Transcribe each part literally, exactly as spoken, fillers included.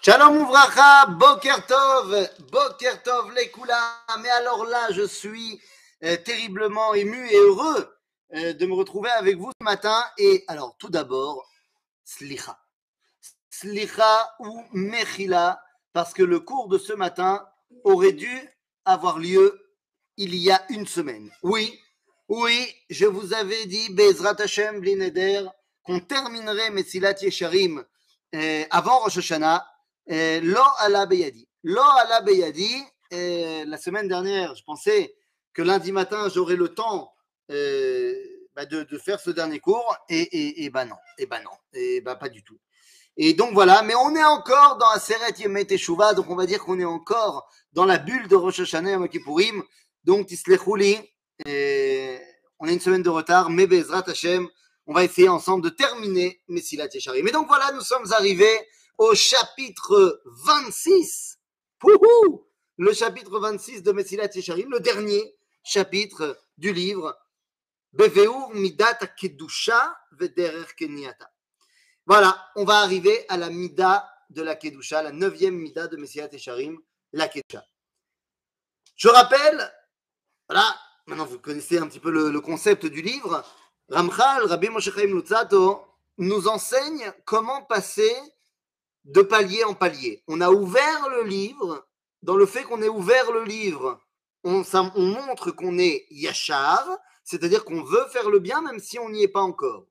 Shalom Ouvracha, Boker Tov, Boker Tov Lekula. Mais alors là, je suis euh, terriblement ému et heureux euh, de me retrouver avec vous ce matin. Et alors, tout d'abord, Slicha. Slicha ou Mechila, parce que le cours de ce matin aurait dû avoir lieu il y a une semaine. Oui, oui, je vous avais dit, Bezrat Hashem Blineder, qu'on terminerait Mesilat Yesharim euh, avant Rosh Hashanah. Euh, Lo ala beyadi. Lo ala beyadi. Euh, la semaine dernière, je pensais que lundi matin, j'aurais le temps euh, bah de, de faire ce dernier cours. Et, et, et bah non. Et bah non. Et bah pas du tout. Et donc voilà. Mais on est encore dans Aseret Yemei Teshuvah. Donc on va dire qu'on est encore dans la bulle de Rosh Hashanah Yom Kippourim. Donc Tislechou li. On a une semaine de retard. Mais Bezrat Hashem, on va essayer ensemble de terminer Mesilat Yesharim. Mais donc voilà, nous sommes arrivés au chapitre vingt-six, Pouhou le chapitre vingt-six de Mesilat Yesharim, le dernier chapitre du livre Beveur Midat Kedusha Vederer Kenyata. Voilà, on va arriver à la Mida de la Kedusha, la neuvième Mida de Mesilat Yesharim, la Kedusha. Je rappelle, voilà, maintenant vous connaissez un petit peu le, le concept du livre. Ramchal, Rabbi Moshe Chaim Luzzatto, nous enseigne comment passer de palier en palier. On a ouvert le livre. Dans le fait qu'on ait ouvert le livre, on, ça, on montre qu'on est yachar, c'est-à-dire qu'on veut faire le bien même si on n'y est pas encore.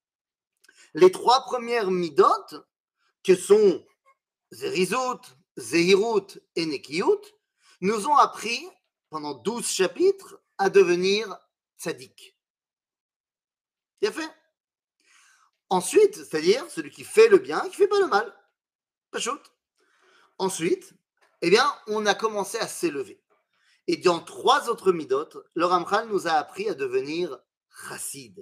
Les trois premières midot, que sont Zerizut, Zehirut et Nekiyut, nous ont appris, pendant douze chapitres, à devenir tzaddik. Bien fait. Ensuite, c'est-à-dire celui qui fait le bien et qui ne fait pas le mal. Pachout. Ensuite, eh bien, on a commencé à s'élever. Et dans trois autres midot, le Ramchal nous a appris à devenir chassid.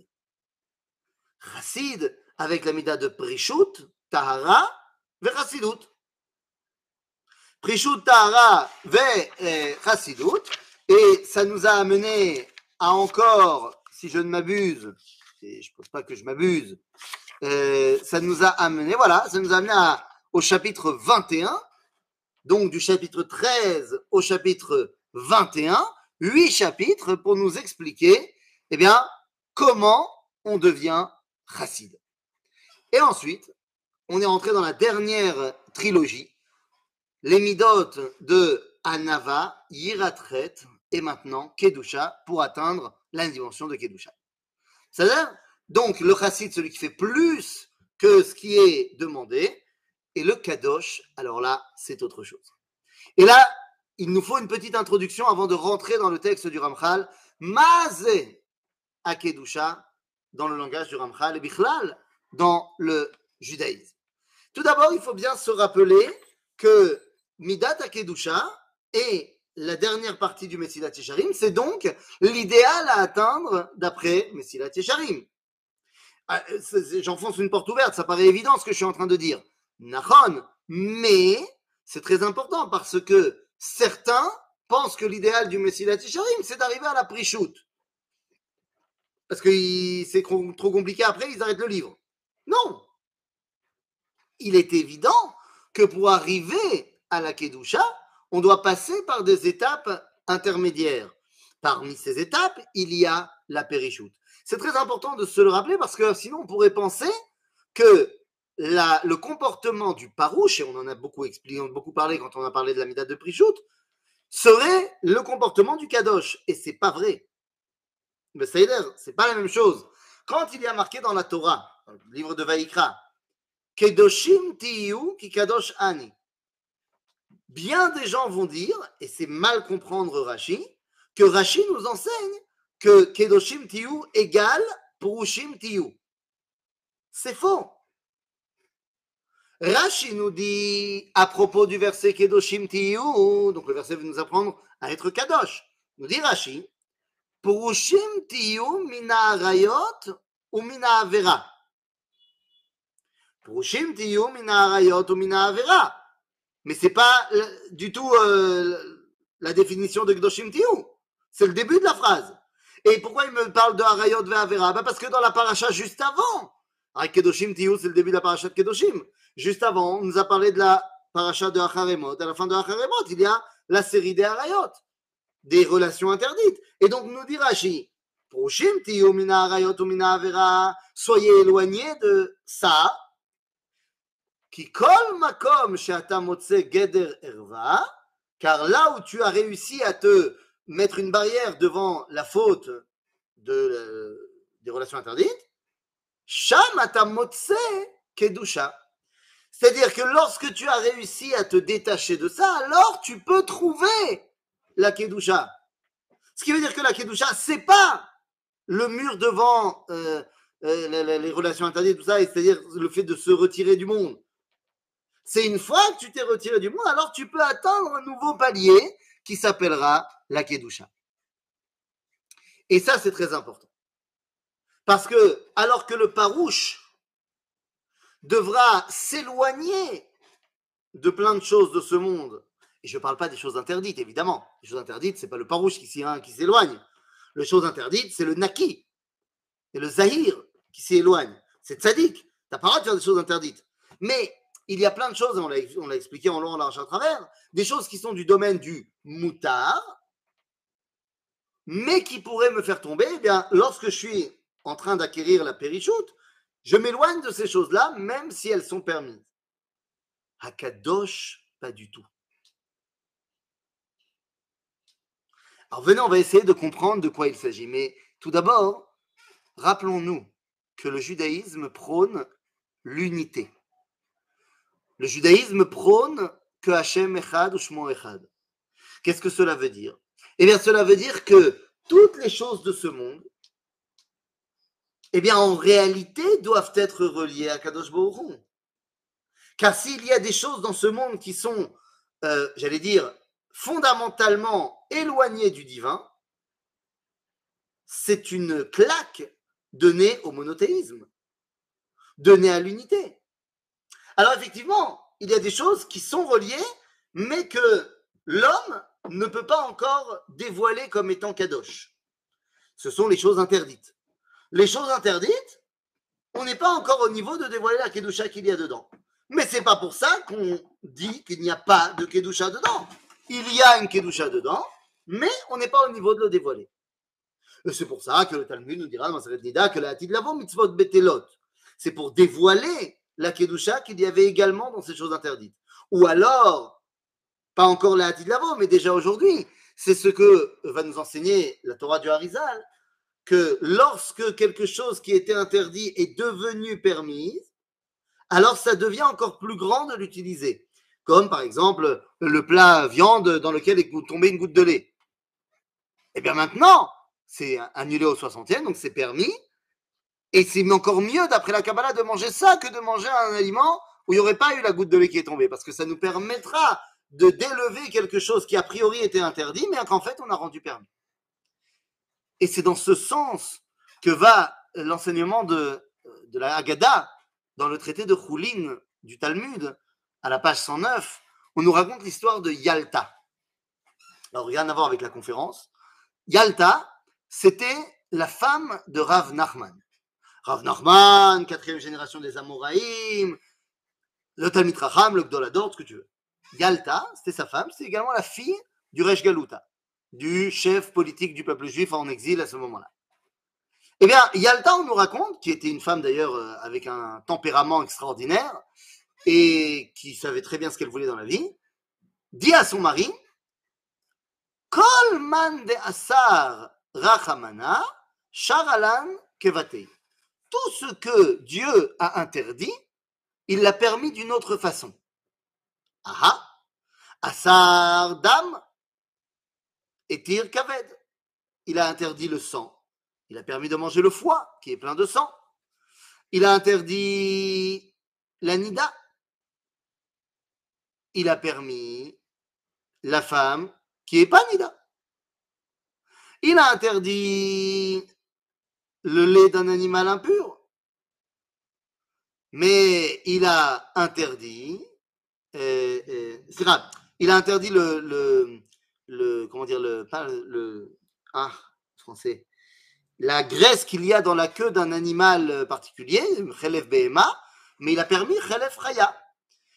Chassid avec la mida de Prishut, Tahara, ve Chassidut. Prishut, Tahara, ve Chassidut. Et ça nous a amené à encore, si je ne m'abuse, et je ne pense pas que je m'abuse, euh, ça nous a amené, voilà, ça nous a amené à au chapitre vingt et un, donc du chapitre treize au chapitre vingt et un, huit chapitres pour nous expliquer, eh bien, comment on devient chassid. Et ensuite, on est rentré dans la dernière trilogie, les midot de Anava, Yiratret et maintenant Kedusha pour atteindre la dimension de Kedusha. C'est-à-dire, donc, le chassid, celui qui fait plus que ce qui est demandé. Et le kadosh, alors là, c'est autre chose. Et là, il nous faut une petite introduction avant de rentrer dans le texte du Ramchal. Mazé akedusha, dans le langage du Ramchal, et bichlal, dans le judaïsme. Tout d'abord, il faut bien se rappeler que Midat akedusha est la dernière partie du Mesilat Yesharim, c'est donc l'idéal à atteindre d'après Mesilat Yesharim. J'enfonce une porte ouverte, ça paraît évident ce que je suis en train de dire. Nachon, mais c'est très important parce que certains pensent que l'idéal du Mesilat Yesharim, c'est d'arriver à la Prishut. Parce que c'est trop compliqué après, ils arrêtent le livre. Non. Il est évident que pour arriver à la Kedusha, on doit passer par des étapes intermédiaires. Parmi ces étapes, il y a la Périshut. C'est très important de se le rappeler parce que sinon on pourrait penser que La, le comportement du parouche, et on en a beaucoup expliqué, on a beaucoup parlé quand on a parlé de la mida de Prishut, serait le comportement du kadosh. Et c'est pas vrai. Mais ça c'est pas la même chose. Quand il y a marqué dans la Torah, dans le livre de Vaïkra, Kedoshim tiyu ki kadosh ani. Bien des gens vont dire, et c'est mal comprendre Rashi, que Rashi nous enseigne que Kedoshim tiyu égale Purushim tiyu. C'est faux. Rashi nous dit, à propos du verset Kedoshim tiyu, donc le verset veut nous apprendre à être kadosh, nous dit Rashi, Purushim tiyu mina arayot ou mina avera. Purushim tiyu mina arayot ou mina avera. Mais c'est pas du tout euh, la définition de Kedoshim tiyu. C'est le début de la phrase. Et pourquoi il me parle de arayot ve avera? Ben parce que dans la paracha juste avant, Kedoshim tiyu, c'est le début de la paracha de Kedoshim. Juste avant, on nous a parlé de la paracha de Acharemot, à la fin de Acharemot, il y a la série des Harayot, des relations interdites. Et donc, nous dit Rashi, Proshim tiyu mina Harayot ou mina Avera, soyez éloignés de ça, qui kol makom she'ata motze geder erva, car là où tu as réussi à te mettre une barrière devant la faute de, euh, des relations interdites, sham ata motze kedusha. C'est-à-dire que lorsque tu as réussi à te détacher de ça, alors tu peux trouver la kedusha. Ce qui veut dire que la kedusha, c'est pas le mur devant euh, euh, les, les relations interdites, tout ça, c'est-à-dire le fait de se retirer du monde. C'est une fois que tu t'es retiré du monde, alors tu peux atteindre un nouveau palier qui s'appellera la kedusha. Et ça, c'est très important. Parce que, alors que le parouche devra s'éloigner de plein de choses de ce monde, et je ne parle pas des choses interdites, évidemment. Les choses interdites, ce n'est pas le parouche qui, qui s'éloigne. Les choses interdites, c'est le naki, et le zahir qui s'éloigne. C'est tzadik. Tu n'as pas le droit de faire des choses interdites. Mais il y a plein de choses, on l'a, on l'a expliqué en long, en large, à travers, des choses qui sont du domaine du moutar, mais qui pourraient me faire tomber, eh bien, lorsque je suis en train d'acquérir la périchoute, je m'éloigne de ces choses-là, même si elles sont permises. Hakadosh, pas du tout. Alors venez, on va essayer de comprendre de quoi il s'agit. Mais tout d'abord, rappelons-nous que le judaïsme prône l'unité. Le judaïsme prône que Hachem Echad ou Shmo Echad. Qu'est-ce que cela veut dire? Eh bien, cela veut dire que toutes les choses de ce monde, eh bien, en réalité, doivent être reliées à Kadosh Baruch Hu. Car s'il y a des choses dans ce monde qui sont, euh, j'allais dire, fondamentalement éloignées du divin, c'est une claque donnée au monothéisme, donnée à l'unité. Alors effectivement, il y a des choses qui sont reliées, mais que l'homme ne peut pas encore dévoiler comme étant kadosh. Ce sont les choses interdites. Les choses interdites, on n'est pas encore au niveau de dévoiler la kedusha qu'il y a dedans. Mais c'est pas pour ça qu'on dit qu'il n'y a pas de kedusha dedans. Il y a une kedusha dedans, mais on n'est pas au niveau de le dévoiler. Et c'est pour ça que le Talmud nous dira dans Masechet Nida que la Atid Lavo mitzvot betelot, c'est pour dévoiler la kedusha qu'il y avait également dans ces choses interdites. Ou alors, pas encore la Atid Lavo, mais déjà aujourd'hui, c'est ce que va nous enseigner la Torah du Harizal, que lorsque quelque chose qui était interdit est devenu permis, alors ça devient encore plus grand de l'utiliser. Comme par exemple le plat viande dans lequel est tombée une goutte de lait. Et bien maintenant, c'est annulé au soixantième, donc c'est permis. Et c'est encore mieux, d'après la Kabbalah, de manger ça que de manger un aliment où il n'y aurait pas eu la goutte de lait qui est tombée. Parce que ça nous permettra de d'élever quelque chose qui a priori était interdit, mais qu'en fait on a rendu permis. Et c'est dans ce sens que va l'enseignement de, de la Haggadah dans le traité de Choulin du Talmud, à la page cent neuf, on nous raconte l'histoire de Yalta. Alors, rien à voir avec la conférence. Yalta, c'était la femme de Rav Nachman. Rav Nachman, quatrième génération des Amoraïm, le Talmid Chacham, le Gdolador, ce que tu veux. Yalta, c'était sa femme, c'est également la fille du Resh Galuta, du chef politique du peuple juif en exil à ce moment-là. Eh bien, Yalta, on nous raconte, qui était une femme d'ailleurs euh, avec un tempérament extraordinaire et qui savait très bien ce qu'elle voulait dans la vie, dit à son mari, Kol man de asar rachamana, sharalan kevatei. Tout ce que Dieu a interdit, il l'a permis d'une autre façon. Aha, asar dam etir kaved. Il a interdit le sang. Il a permis de manger le foie, qui est plein de sang. Il a interdit la nida. Il a permis la femme qui n'est pas nida. Il a interdit le lait d'un animal impur. Mais il a interdit, euh, euh, c'est grave, il a interdit le, le, le comment dire, le, pas le, le ah, français, la graisse qu'il y a dans la queue d'un animal particulier, Chelef Behema, mais il a permis Chelef Chaya.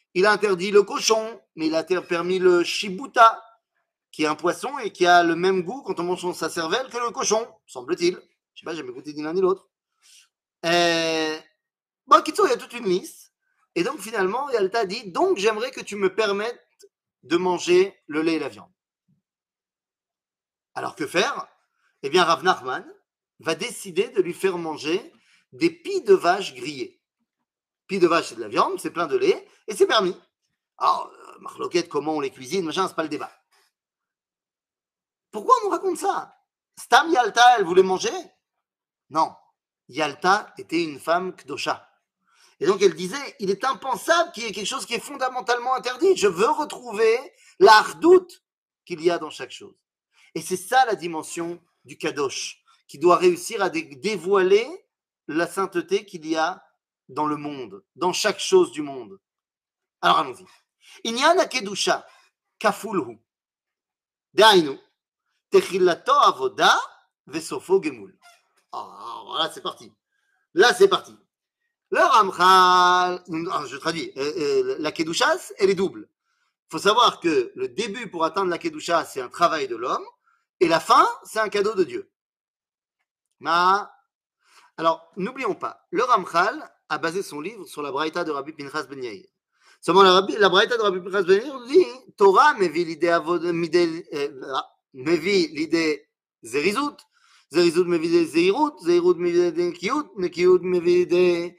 il a interdit le cochon, mais il a permis le shibuta, qui est un poisson et qui a le même goût quand on mange sa cervelle que le cochon, semble-t-il. Je sais pas, j'ai jamais goûté ni l'un ni l'autre. Euh, bon, Kitso, il y a toute une liste. Et donc, finalement, Yalta dit, donc j'aimerais que tu me permettes de manger le lait et la viande. Alors, que faire? Eh bien, Rav Nachman va décider de lui faire manger des pies de vache grillées. Pies de vache, c'est de la viande, c'est plein de lait, et c'est permis. Alors, euh, marloquette, comment on les cuisine, machin, c'est pas le débat. Pourquoi on nous raconte ça? Stam Yalta, elle voulait manger? Non. Yalta était une femme kdosha. Et donc elle disait, il est impensable qu'il y ait quelque chose qui est fondamentalement interdit. Je veux retrouver la hardout qu'il y a dans chaque chose. Et c'est ça la dimension du kadosh, qui doit réussir à dé- dévoiler la sainteté qu'il y a dans le monde, dans chaque chose du monde. Alors allons-y. Inyan hakedusha kafulhu. Dainu. Techilato avoda vesofo gemul. Ah, voilà, c'est parti. Là, c'est parti. Le Ramchal, je traduis, euh, euh, la Kedusha, elle est double. Il faut savoir que le début pour atteindre la Kedusha, c'est un travail de l'homme, et la fin, c'est un cadeau de Dieu. Ma... Alors, n'oublions pas, le Ramchal a basé son livre sur la Braïta de Rabbi Pinchas Ben Yair. Seulement, la, la Braïta de Rabbi Pinchas Ben Yair dit Torah mevi l'idée avod, mevi l'idée zerizut, zerizut mevi l'idée zeirut, zeirut mevi l'idée kiut, kiut mevi l'idée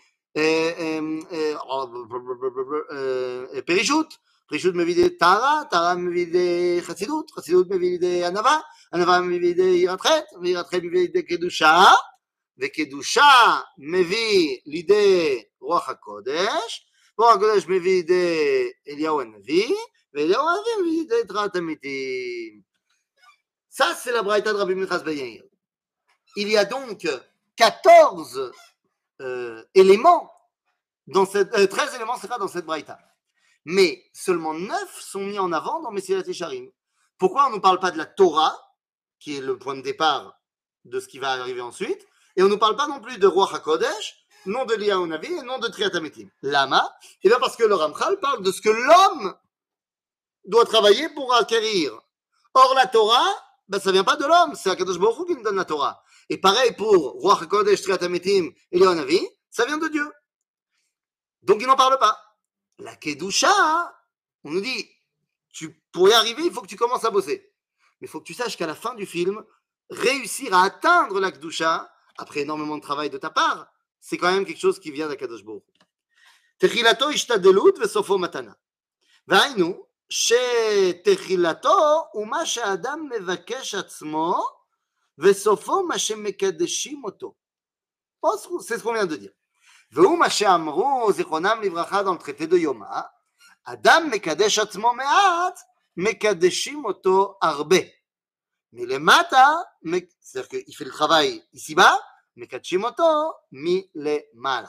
פרישות, פרישות מביא לידי טהרה, טהרה מביא לידי חסידות, חסידות מביא לידי ענווה, ענווה מביא לידי יראת חטא, ויראת חטא מביא לידי קדושה, וקדושה מביא לידי רוח הקודש, רוח הקודש מביא לידי אליהו הנביא, ואליהו הנביא מביא לידי תרעת המתים. Ça, c'est la braïta de Rabbi Pinchas Ben Yair. Il y a donc quatorze euh, éléments dans cette, euh, treize éléments c'est pas dans cette braïta. Mais seulement neuf sont mis en avant dans Messilat Yesharim. Pourquoi on ne nous parle pas de la Torah, qui est le point de départ de ce qui va arriver ensuite, et on ne nous parle pas non plus de Ruach HaKodesh, non de Eliyahu Navi et non de Triat HaMetim. Lama? Et bien parce que le Ramchal parle de ce que l'homme doit travailler pour acquérir. Or la Torah, ben, ça ne vient pas de l'homme, c'est Akadosh Baruch Hu qui nous donne la Torah. Et pareil pour Ruach HaKodesh, Triat HaMetim, Eliyahu Navi, ça vient de Dieu. Donc il n'en parle pas. La Kedusha, on nous dit, tu, pour y arriver, il faut que tu commences à bosser. Mais il faut que tu saches qu'à la fin du film, réussir à atteindre la Kedusha, après énormément de travail de ta part, c'est quand même quelque chose qui vient d'Akadosh Baruch Hu. Techilato ishtadelut vesofo matana. והיינו, שתחילתו הוא מה שהאדם מבקש עצמו, וסופו מה שמקדשים אותו. C'est ce qu'on vient de dire. והוא מה שאמרו זיכרונם לברכה dans le traité de Yoma, אדם מקדש עצמו מעט, מקדשים אותו הרבה. מלמטה, c'est-à-dire qu'il fait le travail ici-bas, מקדשים אותו מלמעלה.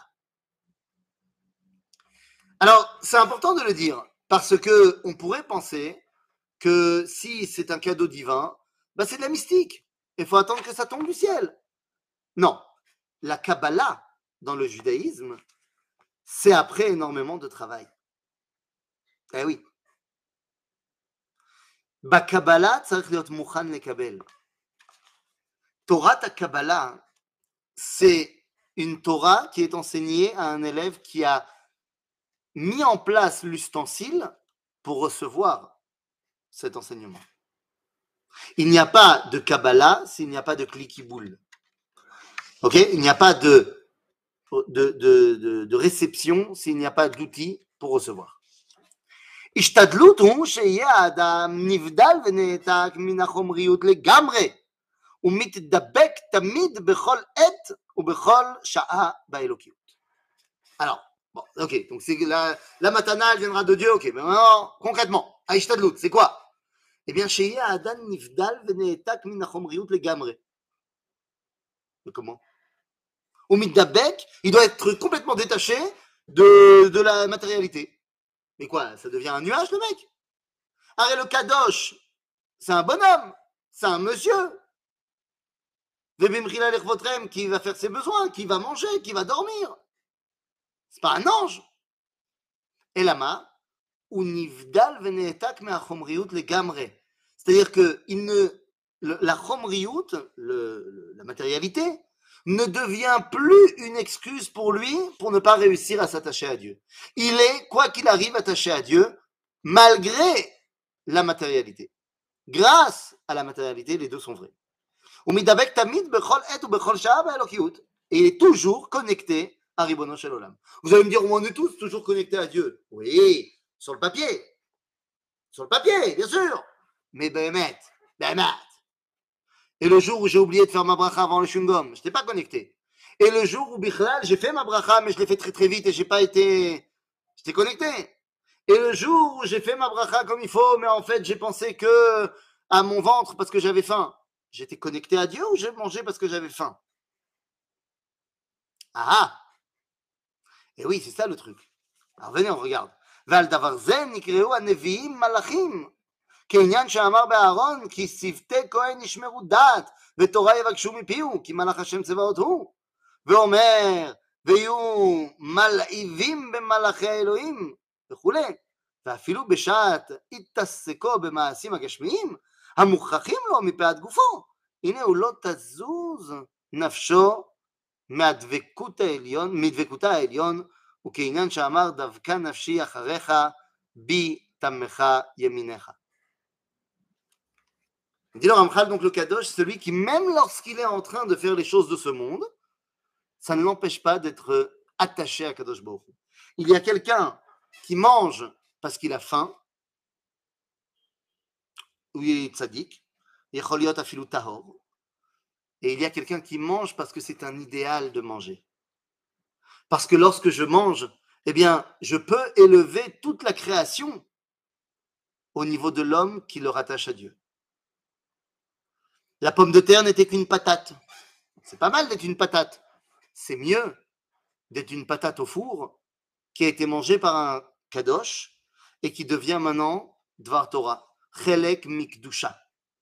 Alors, c'est important de le dire, parce que on pourrait penser que si c'est un cadeau divin, bah c'est de la mystique. Il faut attendre que ça tombe du ciel. Non, la Kabbalah, dans le judaïsme, c'est après énormément de travail. Eh oui. Bakabbalah, tzarich liot mukhan lekabel. Torah ta Kabbalah, c'est une Torah qui est enseignée à un élève qui a mis en place l'ustensile pour recevoir cet enseignement. Il n'y a pas de Kabbalah s'il n'y a pas de cliquiboule. Ok? Il n'y a pas de, de, de, de, de réception s'il n'y a pas d'outil pour recevoir. השתדלות הוא שיהיה האדם נבדל ונעתק מן החומריות לגמרי ומתדבק תמיד בכל עת ובכל שעה באלוקיות. Alors, bon, ok, donc c'est la, la matana, elle viendra de Dieu, ok, mais maintenant, concrètement, ההשתדלות, c'est quoi? Eh bien, שיהיה האדם נבדל ונעתק מן החומריות לגמרי. Mais comment? Ou mitdabek, il doit être complètement détaché de, de la matérialité. Mais quoi, ça devient un nuage, le mec? Arrête, le kadosh, c'est un bonhomme, c'est un monsieur. Vebimchila lechvotrem, qui va faire ses besoins, qui va manger, qui va dormir. C'est pas un ange. Et lama, univdal veneetak me'achomriut legamre. C'est-à-dire que il ne, le, la chomriut, le, le, la matérialité, ne devient plus une excuse pour lui pour ne pas réussir à s'attacher à Dieu. Il est, quoi qu'il arrive, attaché à Dieu, malgré la matérialité. Grâce à la matérialité, les deux sont vrais. Et il est toujours connecté à Ribono Shel Olam. Vous allez me dire, on est tous toujours connectés à Dieu. Oui, sur le papier. Sur le papier, bien sûr. Mais Béhémet, Béhémet. Et le jour où j'ai oublié de faire ma bracha avant le Shungom, je n'étais pas connecté. Et le jour où Bichlal, j'ai fait ma bracha, mais je l'ai fait très très vite et j'ai pas été... J'étais connecté. Et le jour où j'ai fait ma bracha comme il faut, mais en fait j'ai pensé que à mon ventre parce que j'avais faim, j'étais connecté à Dieu ou j'ai mangé parce que j'avais faim? Ah! Et oui, c'est ça le truc. Alors venez, on regarde. Val davar zen nikreu aneviim malachim. כעניין שאמר באהרון, כי שבטי כהן ישמרו דת, ותורה יבקשו מפיהו, כי מלאך השם צבאות הוא. ואומר, ויהיו מלהיבים במלאכי האלוהים, וכולי. ואפילו בשעת התעסקו במעשים הגשמיים, המוכרחים לו מפאת גופו. הנה הוא לא תזוז נפשו מהדבקות העליון, מדבקותה העליון, וכעניין שאמר, דבקה נפשי אחריך, בי תמך ימיניך. Dit le Ramchal, donc le Kadosh, celui qui, même lorsqu'il est en train de faire les choses de ce monde, ça ne l'empêche pas d'être attaché à Kadosh Baruch Hu. Il y a quelqu'un qui mange parce qu'il a faim, ou il est tzaddik, yecholiot afilu tahor, et il y a quelqu'un qui mange parce que c'est un idéal de manger. Parce que lorsque je mange, eh bien, je peux élever toute la création au niveau de l'homme qui le rattache à Dieu. La pomme de terre n'était qu'une patate. C'est pas mal d'être une patate. C'est mieux d'être une patate au four qui a été mangée par un kadosh et qui devient maintenant Dvar Torah. Chelek mikdusha.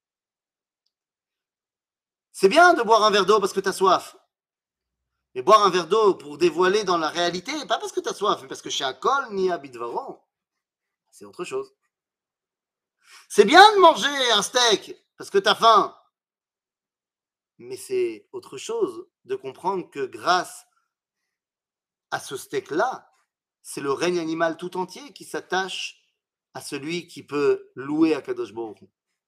C'est bien de boire un verre d'eau parce que tu as soif. Mais boire un verre d'eau pour dévoiler dans la réalité, pas parce que tu as soif, mais parce que chez Akol ni Abidvaro, c'est autre chose. C'est bien de manger un steak parce que tu as faim. Mais c'est autre chose de comprendre que grâce à ce steak-là, c'est le règne animal tout entier qui s'attache à celui qui peut louer Akadosh Baruch Hu.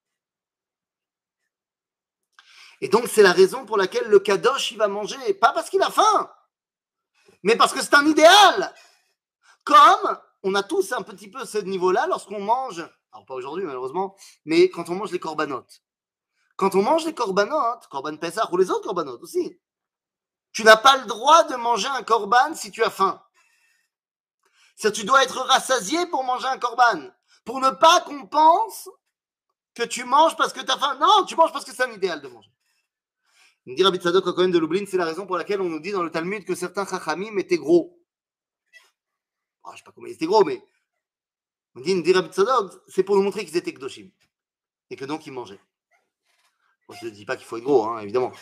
Et donc c'est la raison pour laquelle le Kadosh il va manger, pas parce qu'il a faim, mais parce que c'est un idéal. Comme on a tous un petit peu ce niveau-là lorsqu'on mange, alors pas aujourd'hui malheureusement, mais quand on mange les corbanotes. Quand on mange les corbanotes, Korban Pessah ou les autres corbanotes aussi, tu n'as pas le droit de manger un korban si tu as faim. C'est-à-dire, tu dois être rassasié pour manger un korban. Pour ne pas qu'on pense que tu manges parce que tu as faim. Non, tu manges parce que c'est un idéal de manger. Il me dit Rabbi Tzadok HaKohen de Lublin, c'est la raison pour laquelle on nous dit dans le Talmud que certains chachamim étaient gros. Oh, je ne sais pas comment ils étaient gros, mais on dit, il me dit Rabbi Tzadok, c'est pour nous montrer qu'ils étaient kdoshim. Et que donc ils mangeaient. Bon, je ne dis pas qu'il faut être gros, hein, évidemment.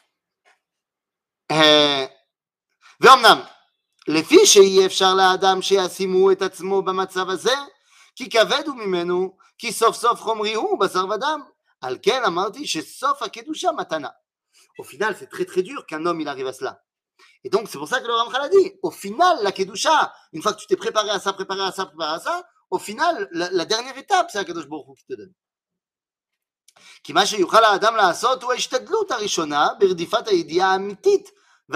ואומנם, לפי שאי אפשר לאדם שישימו את עצמו במצב הזה, כי כבד הוא ממנו, כי סוף סוף חומרי הוא בשר ודם. על כן אמרתי שסוף הקדושה מתנה. Au final, c'est très très dur qu'un homme il arrive à cela. Et donc, c'est pour ça que le Ramchal a dit, au final, la kedusha, une fois que tu t'es préparé à ça, préparé à ça, préparé à ça, au final, la, la dernière étape, c'est Akadosh Baruch Hu qui te donne. כי מה שיוכל האדם לעשות הוא ההשתדלות הראשונה ברדיפת הידיעה האמיתית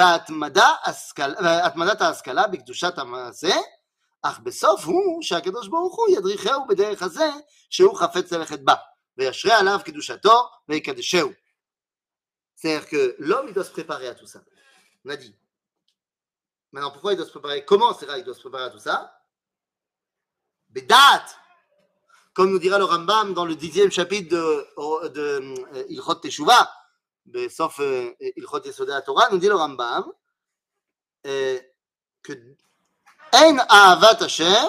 והתמדת ההשכלה בקדושת המעשה, אך בסוף הוא שהקדוש ברוך הוא ידריכהו בדרך הזה שהוא חפץ ללכת בה, וישרה עליו קדושתו ויקדשהו. C'est-à-dire que l'homme il doit se préparer à tout ça. On a dit. Maintenant, pourquoi il doit se préparer? Comment c'est là il doit se préparer à tout ça? Bédat. Comme nous dira le Rambam dans le dixième chapitre de, de, de Ilchot Teshuvah, sauf euh, Ilchot Yesodei HaTorah, nous dit le Rambam euh, que En Ahavat Hashem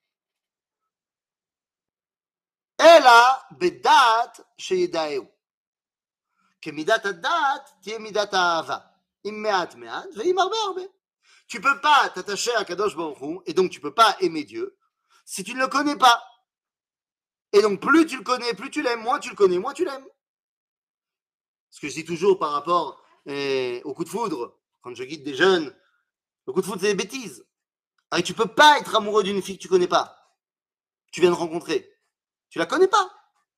Ela Bedat Sheyedaeu. Que Midat Adat tie Midat Ahava. Im me'at me'at ve'im arbe arbe. Tu peux pas t'attacher à Kadosh Baruch Hu et donc tu peux pas aimer Dieu si tu ne le connais pas. Et donc, plus tu le connais, plus tu l'aimes. Moins tu le connais, moins tu l'aimes. Ce que je dis toujours par rapport eh, au coup de foudre, quand je guide des jeunes, le coup de foudre, c'est des bêtises. Et tu peux pas être amoureux d'une fille que tu connais pas. Tu viens de rencontrer. Tu la connais pas.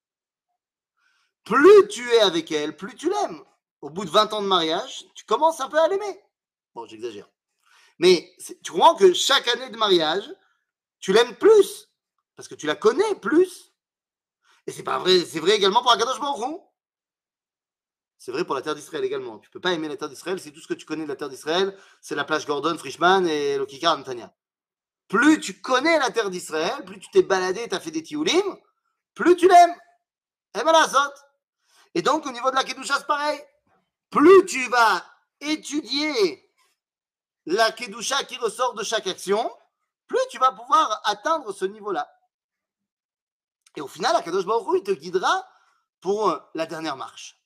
Plus tu es avec elle, plus tu l'aimes. Au bout de vingt ans de mariage, tu commences un peu à l'aimer. Bon, j'exagère. Mais tu comprends que chaque année de mariage, tu l'aimes plus. Parce que tu la connais plus. Et c'est pas vrai, c'est vrai également pour Akadosh Baruch Hu. C'est vrai pour la terre d'Israël également. Tu peux pas aimer la terre d'Israël, c'est tout ce que tu connais de la terre d'Israël, c'est la plage Gordon, Frischman et le Kikar Netanya. Plus tu connais la terre d'Israël, plus tu t'es baladé, tu as fait des tioulim, plus tu l'aimes. Et ben la zot. Et donc au niveau de la Kedusha, c'est pareil. Plus tu vas étudier la Kedusha qui ressort de chaque action, plus tu vas pouvoir atteindre ce niveau-là. Et au final, Akadosh Baruch Hu, il te guidera pour la dernière marche.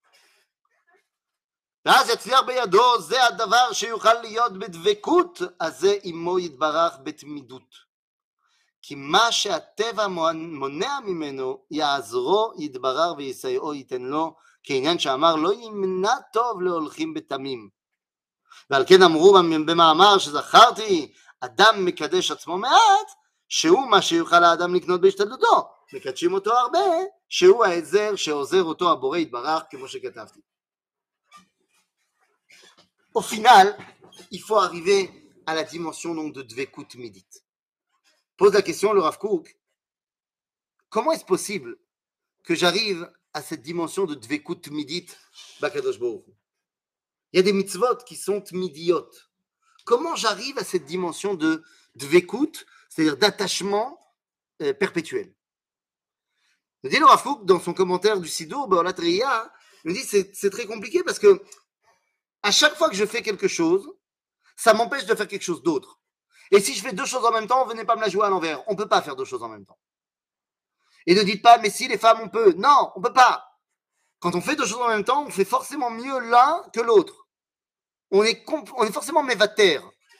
ואז יצליח בידו, זה הדבר שיוכל להיות בדבקות, אז זה עמו יתברך בתמידות. כי מה שהטבע מונע ממנו, יעזרו, יתברר ויסייעו, ייתן לו, כעניין שאמר, לא ימנע טוב להולכים בתמים. ועל כן אמרו במאמר שזכרתי, אדם מקדש עצמו מעט, שהוא מה שיוכל האדם לקנות בהשתדלותו. מקדשים אותו הרבה, שהוא העזר שעוזר אותו הבורא יתברך, כמו שכתבתי. Au final, il faut arriver à la dimension donc, de Dvekut Midit. Pose la question, le Rav Kook, comment est-ce possible que j'arrive à cette dimension de Dvekut Midit Bakadosh Baruch Hu? Il y a des mitzvot qui sont midiot. Comment j'arrive à cette dimension de Dvekut, c'est-à-dire d'attachement euh, perpétuel? Il dit le Rav Kook dans son commentaire du Sidour, Be'olat Re'iyah, il dit c'est, c'est très compliqué parce que à chaque fois que je fais quelque chose, ça m'empêche de faire quelque chose d'autre. Et si je fais deux choses en même temps, venez pas me la jouer à l'envers. On ne peut pas faire deux choses en même temps. Et ne dites pas, mais si les femmes, on peut. Non, on ne peut pas. Quand on fait deux choses en même temps, on fait forcément mieux l'un que l'autre. On est, comp- on est forcément mévater.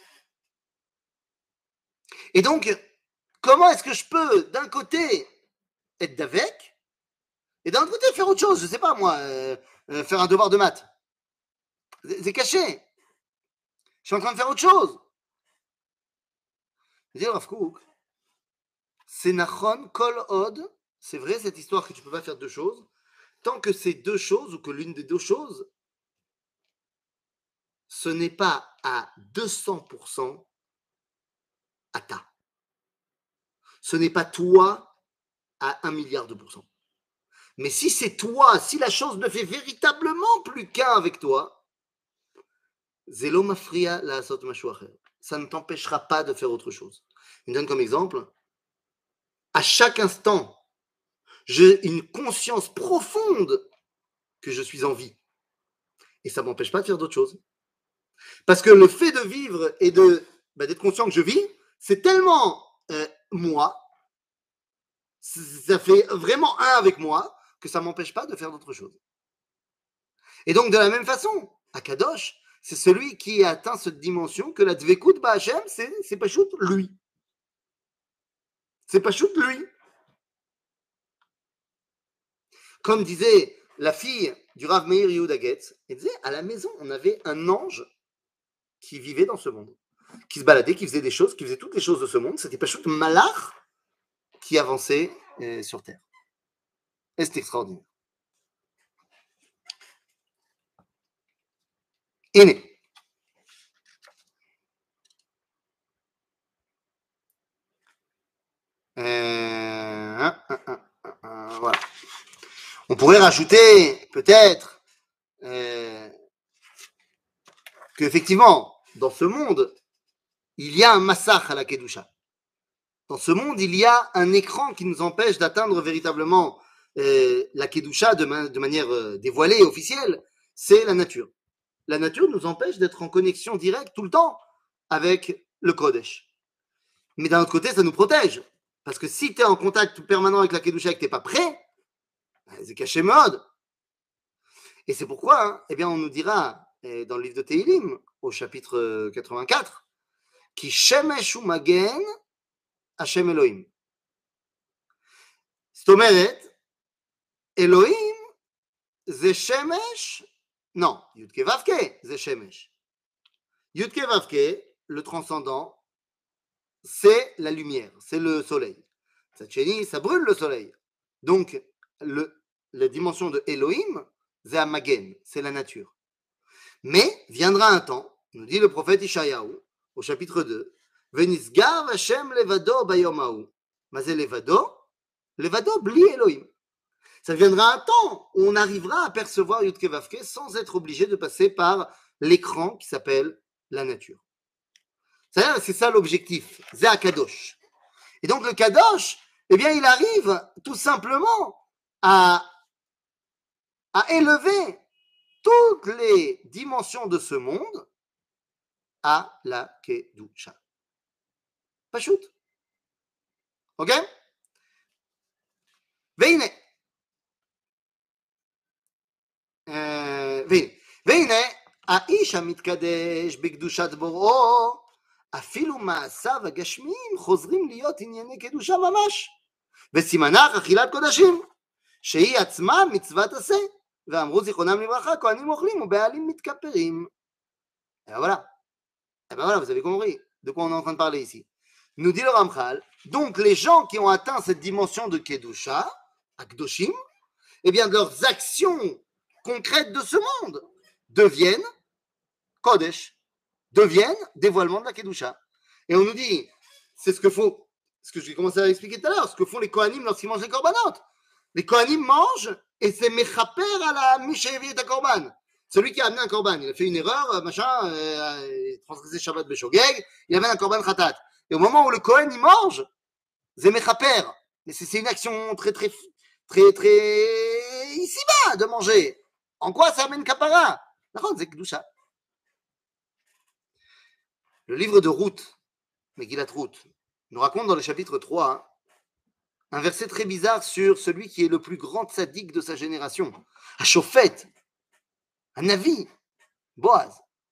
Et donc, comment est-ce que je peux, d'un côté, être d'avec, et d'un autre côté, faire autre chose? Je ne sais pas, moi, euh, euh, faire un devoir de maths. C'est caché. Je suis en train de faire autre chose. Je dis, Rav Kook, c'est Nachon, Kol Od, c'est vrai cette histoire que tu ne peux pas faire deux choses, tant que ces deux choses, ou que l'une des deux choses, ce n'est pas à deux cents pour cent à ta. Ce n'est pas toi à un milliard de pourcents. Mais si c'est toi, si la chose ne fait véritablement plus qu'un avec toi, Zelo mafria la asot mashu acher. Ça ne t'empêchera pas de faire autre chose. Je donne comme exemple, à chaque instant, j'ai une conscience profonde que je suis en vie. Et ça ne m'empêche pas de faire d'autres choses. Parce que le fait de vivre et de, bah, d'être conscient que je vis, c'est tellement euh, moi, ça fait vraiment un avec moi, que ça ne m'empêche pas de faire d'autres choses. Et donc, de la même façon, Akadosh, c'est celui qui a atteint cette dimension que la Dvekut Ba'Hashem, c'est, c'est pas chute lui. C'est pas chute lui. Comme disait la fille du Rav Meir Yehuda Getz, elle disait, à la maison, on avait un ange qui vivait dans ce monde, qui se baladait, qui faisait des choses, qui faisait toutes les choses de ce monde. C'était pas chute Malach qui avançait euh, sur terre. Et c'est extraordinaire. Aîné. Euh, voilà. On pourrait rajouter peut-être euh, qu'effectivement, dans ce monde, il y a un massach à la Kedusha. Dans ce monde, il y a un écran qui nous empêche d'atteindre véritablement euh, la Kedusha de, ma- de manière euh, dévoilée et officielle. C'est la nature. La nature nous empêche d'être en connexion directe tout le temps avec le Kodesh. Mais d'un autre côté, ça nous protège. Parce que si tu es en contact permanent avec la Kedusha et que tu n'es pas prêt, c'est caché mode. Et c'est pourquoi, hein, eh bien, on nous dira eh, dans le livre de Tehilim, au chapitre quatre-vingt-quatre, qui Shemesh Magen Hashem Elohim. זאת אומרת, אלוהים זה שמש, non, Yudke Vavke, זה שמש. Yudke Vavke, le transcendant, c'est la lumière, c'est le soleil. Tzad ça brûle le soleil. Donc, le, la dimension de Elohim, c'est Amagen, c'est la nature. Mais viendra un temps, nous dit le prophète Ishayahu, au chapitre deux, Venisgar Hashem levado bayom hahu. Mazé levado, levado bli Elohim. Ça viendra un temps où on arrivera à percevoir Yudke Vavke sans être obligé de passer par l'écran qui s'appelle la nature. C'est-à-dire, c'est ça l'objectif, c'est un Kadosh. Et donc le Kadosh, eh bien, il arrive tout simplement à, à élever toutes les dimensions de ce monde à la Kedusha. Pachout. Ok? Veine. והנה, והנה, האיש המתקדש בקדושת בוראו, אפילו מעשיו הגשמיים חוזרים להיות ענייני קדושה ממש, וסימנך אכילת קודשים, שהיא עצמה מצוות עשה, ואמרו זיכרונם לברכה, כהנים אוכלים ובעלים מתכפרים. Et ben voilà, et ben voilà, vous avez compris de quoi on est en train de parler ici. Nous dit le Ramchal, donc les gens qui ont atteint cette dimension de Kedusha, Akdoshim, eh bien de leurs actions concrètes de ce monde deviennent Kodesh, deviennent dévoilement de la Kedusha. Et on nous dit, c'est ce que font, ce que j'ai commencé à expliquer tout à l'heure, ce que font les Kohanim lorsqu'ils mangent les korbanot. Les Kohanim mangent et c'est Mechaper à la Mishévi et à Korban. Celui qui a amené un Korban, il a fait une erreur, machin, euh, il a transgressé Shabbat Beshogeg, il amène un Korban Khatat. Et au moment où le Kohen il mange, c'est Mechaper. Mais c'est, c'est une action très, très, très, très ici-bas de manger. En quoi ça amène Kapara? C'est Kedusha. Le livre de Ruth, Megillat Ruth, nous raconte dans le chapitre trois un verset très bizarre sur celui qui est le plus grand tzaddik de sa génération, un Shofet, un Navi, Boaz.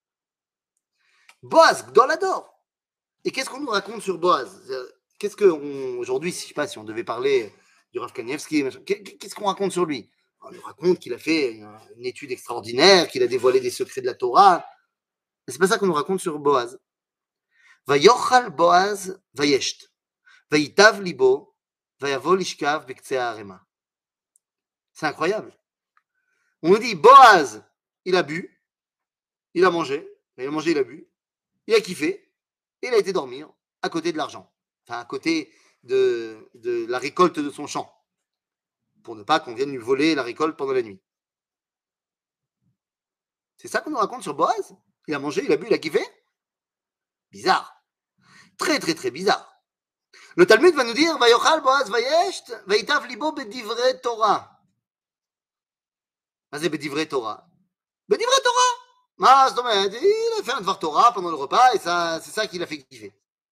Boaz, Gdolador. Et qu'est-ce qu'on nous raconte sur Boaz? Qu'est-ce que, on, aujourd'hui, je ne sais pas si on devait parler du Rav Kanievski, qu'est-ce qu'on raconte sur lui? On nous raconte qu'il a fait une étude extraordinaire, qu'il a dévoilé des secrets de la Torah. Mais c'est pas ça qu'on nous raconte sur Boaz. Vayochal Boaz vayesht, vayitav libo, vayavo lishkav bektsei ha'arema. C'est incroyable. On nous dit Boaz, il a bu, il a mangé, il a mangé, il a bu, il a kiffé, et il a été dormir à côté de l'argent, enfin à côté de, de la récolte de son champ, pour ne pas qu'on vienne lui voler la récolte pendant la nuit. C'est ça qu'on nous raconte sur Boaz? Il a mangé, il a bu, il a kiffé? Bizarre. Très, très, très bizarre. Le Talmud va nous dire Vayochal Boaz vayesht, vayitav libo bedivrei Torah. מה זה בדברי תורה? בדברי תורה. מה זאת אומרת? Il a fait un dvar Torah pendant le repas et ça, c'est ça qui l'a fait kiffer.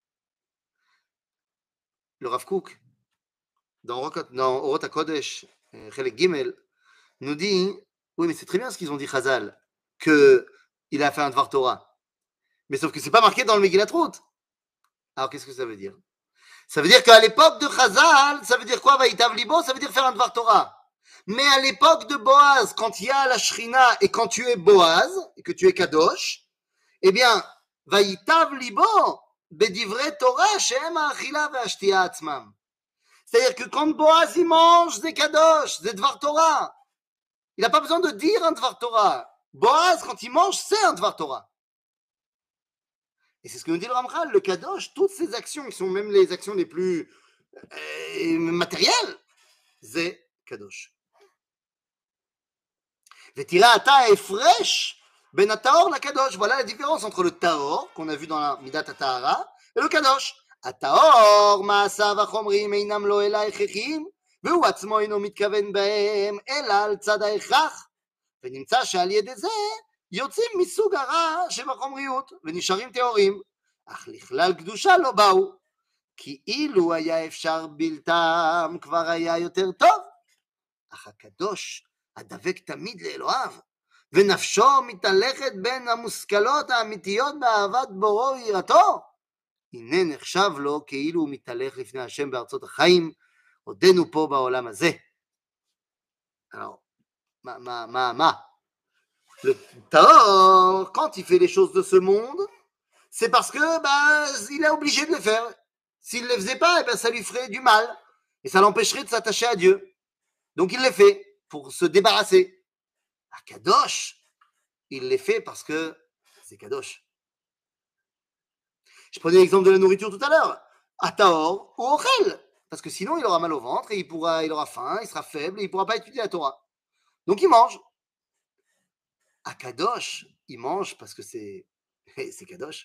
Le Rav Kook, dans Orot HaKodesh, Chelek Gimel, nous dit, oui mais c'est très bien ce qu'ils ont dit Chazal, qu'il a fait un dvar Torah. Mais sauf que c'est pas marqué dans le Megillat Ruth. Alors qu'est-ce que ça veut dire? Ça veut dire qu'à l'époque de Chazal, ça veut dire quoi? Vayitav libo, ça veut dire faire un dvar Torah. Mais à l'époque de Boaz, quand il y a la Shrina et quand tu es Boaz, et que tu es Kadosh, eh bien, Vayitav libo, bedivrei Torah, shehem ha'achila ve'ashtiya atzmam. C'est-à-dire que quand Boaz il mange, c'est Kadosh, c'est Dvar Torah. Il n'a pas besoin de dire un Dvar Torah. Boaz, quand il mange, c'est un Dvar Torah. Et c'est ce que nous dit le Ramchal, le Kadosh, toutes ces actions, qui sont même les actions les plus euh, matérielles, c'est Kadosh. Vetira ata efresh ben ataor la kadosh. Voilà la différence entre le taor qu'on a vu dans la midat atahara et le kadosh. Ataor maasav achomrim einam lo ela echechim והוא עצמו אינו מתכוון בהם אלא על צד ההכרח ונמצא שעל ידי זה יוצאים מסוג הרע שבחומריות ונשארים טהורים אך לכלל קדושה לא באו כי אילו היה אפשר בלתם כבר היה יותר טוב אך הקדוש הדבק תמיד לאלוהיו, ונפשו מתהלכת בין המושכלות האמיתיות באהבת בוראו ויראתו, הנה נחשב לו כאילו הוא מתהלך לפני השם בארצות החיים, עודנו פה בעולם הזה. Alors, ma, ma, ma, ma. Le Taor, quand il fait les choses de ce monde, c'est parce que bah, il est obligé de le faire. S'il ne le faisait pas, eh ben, ça lui ferait du mal. Et ça l'empêcherait de s'attacher à Dieu. Donc il les fait pour se débarrasser. À Kadosh, il les fait parce que c'est Kadosh. Je prenais l'exemple de la nourriture tout à l'heure. À Taor ou Ochel. Parce que sinon, il aura mal au ventre et il, pourra, il aura faim, il sera faible et il ne pourra pas étudier la Torah. Donc il mange. À Kadosh, il mange parce que c'est, c'est Kadosh.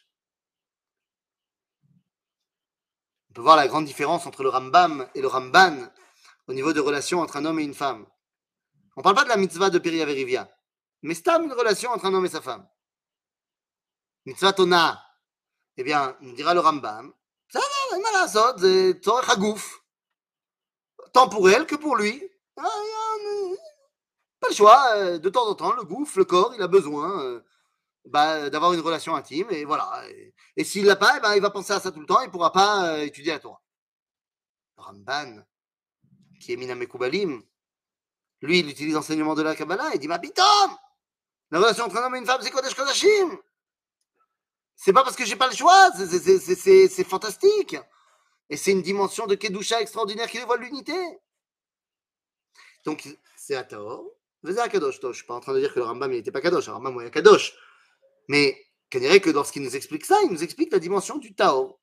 On peut voir la grande différence entre le Rambam et le Ramban au niveau de relations entre un homme et une femme. On ne parle pas de la mitzvah de Peri Averivia, mais c'est une relation entre un homme et sa femme. Mitzvah Tona, eh bien, nous dira le Rambam, ça va, mal à ça, c'est tzorech hagouf. Tant pour elle que pour lui. Pas le choix, de temps en temps, le gouffre, le corps, il a besoin bah, d'avoir une relation intime, et voilà. Et, et s'il ne l'a pas, eh ben, il va penser à ça tout le temps, il ne pourra pas euh, étudier la Torah. Le Ramban, qui est Minam Mekoubalim, lui, il utilise l'enseignement de la Kabbalah, il dit, ma pitom, la relation entre un homme et une femme, c'est Kodesh Kodashim. C'est pas parce que j'ai pas le choix, c'est, c'est, c'est, c'est, c'est fantastique. Et c'est une dimension de Kedusha extraordinaire qui dévoile l'unité. Donc, c'est à Taor, c'est à Kadosh. Je ne suis pas en train de dire que le Rambam, il n'était pas Kadosh, le Rambam, il est Kadosh. Mais, qu'on dirait que lorsqu'il nous explique ça, il nous explique la dimension du Taor.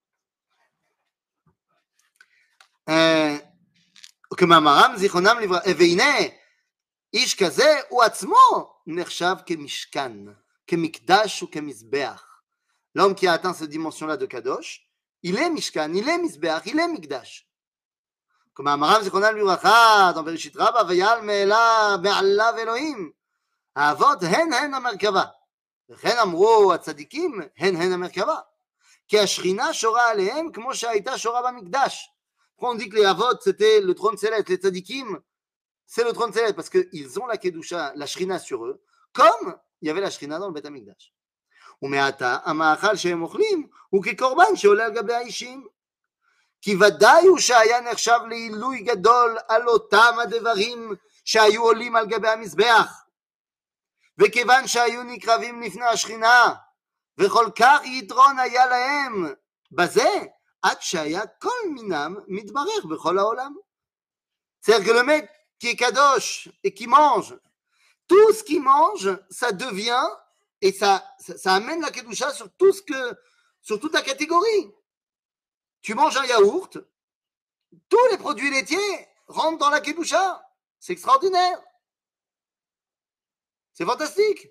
כמאמרם זיכרונם לברכה, והנה איש כזה הוא עצמו נחשב כמשכן, כמקדש וכמזבח. L'homme qui a atteint cette dimension-là de Kadosh, il est Mishkan, il est Mizbeach, il est Mikdash. כמאמרם זיכרונם לברכה, dans בראשית רבה, ויעל מעליו אלוהים, האבות הן הן המרכבה. וכן אמרו הצדיקים, הן הן המרכבה. כי השכינה שורה עליהם כמו שהייתה שורה במקדש. Pourquoi on dit que les Avot, c'était le trône céleste, les tzadikim, c'est le trône céleste, parce qu'ils ont la Kedusha, la Shrina sur eux, comme il y avait la Shrina dans le Beth HaMikdash. ומעתה, המאכל שהם אוכלים הוא כקורבן שעולה על גבי האישים. כי ודאי הוא שהיה נחשב לעילוי גדול על אותם הדברים שהיו עולים על גבי המזבח. וכיוון שהיו נקרבים לפני השכינה, וכל כך יתרון היה להם בזה, עד שהיה כל מינם מתברך בכל העולם. C'est-à-dire que le mec qui est kadosh et qui mange, tout ce qu'il mange, ça devient, et ça, ça, ça amène la kedusha sur tout ce que, sur toute la catégorie. Tu manges un yaourt, tous les produits laitiers rentrent dans la kedusha. C'est extraordinaire. C'est fantastique.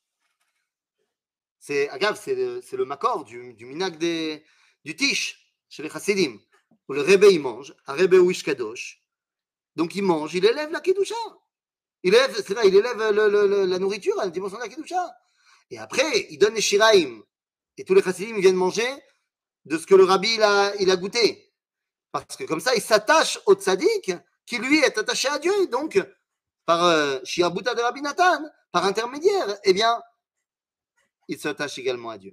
C'est, agave, c'est le, c'est le makor du, du minag des, du tish. Chez les chassidim, où le Rebbe il mange, un Rebbe ou Kadosh, donc il mange, il élève la Kedusha. Il élève, c'est là, il élève le, le, le, la nourriture à la dimension de la Kedusha. Et après, il donne les shiraim. Et tous les chassidim viennent manger de ce que le Rabbi il a, il a goûté. Parce que comme ça, il s'attache au tzaddik qui lui est attaché à Dieu. Et donc, par euh, Shiabuta de Rabbi Nathan, par intermédiaire, eh bien, il s'attache également à Dieu.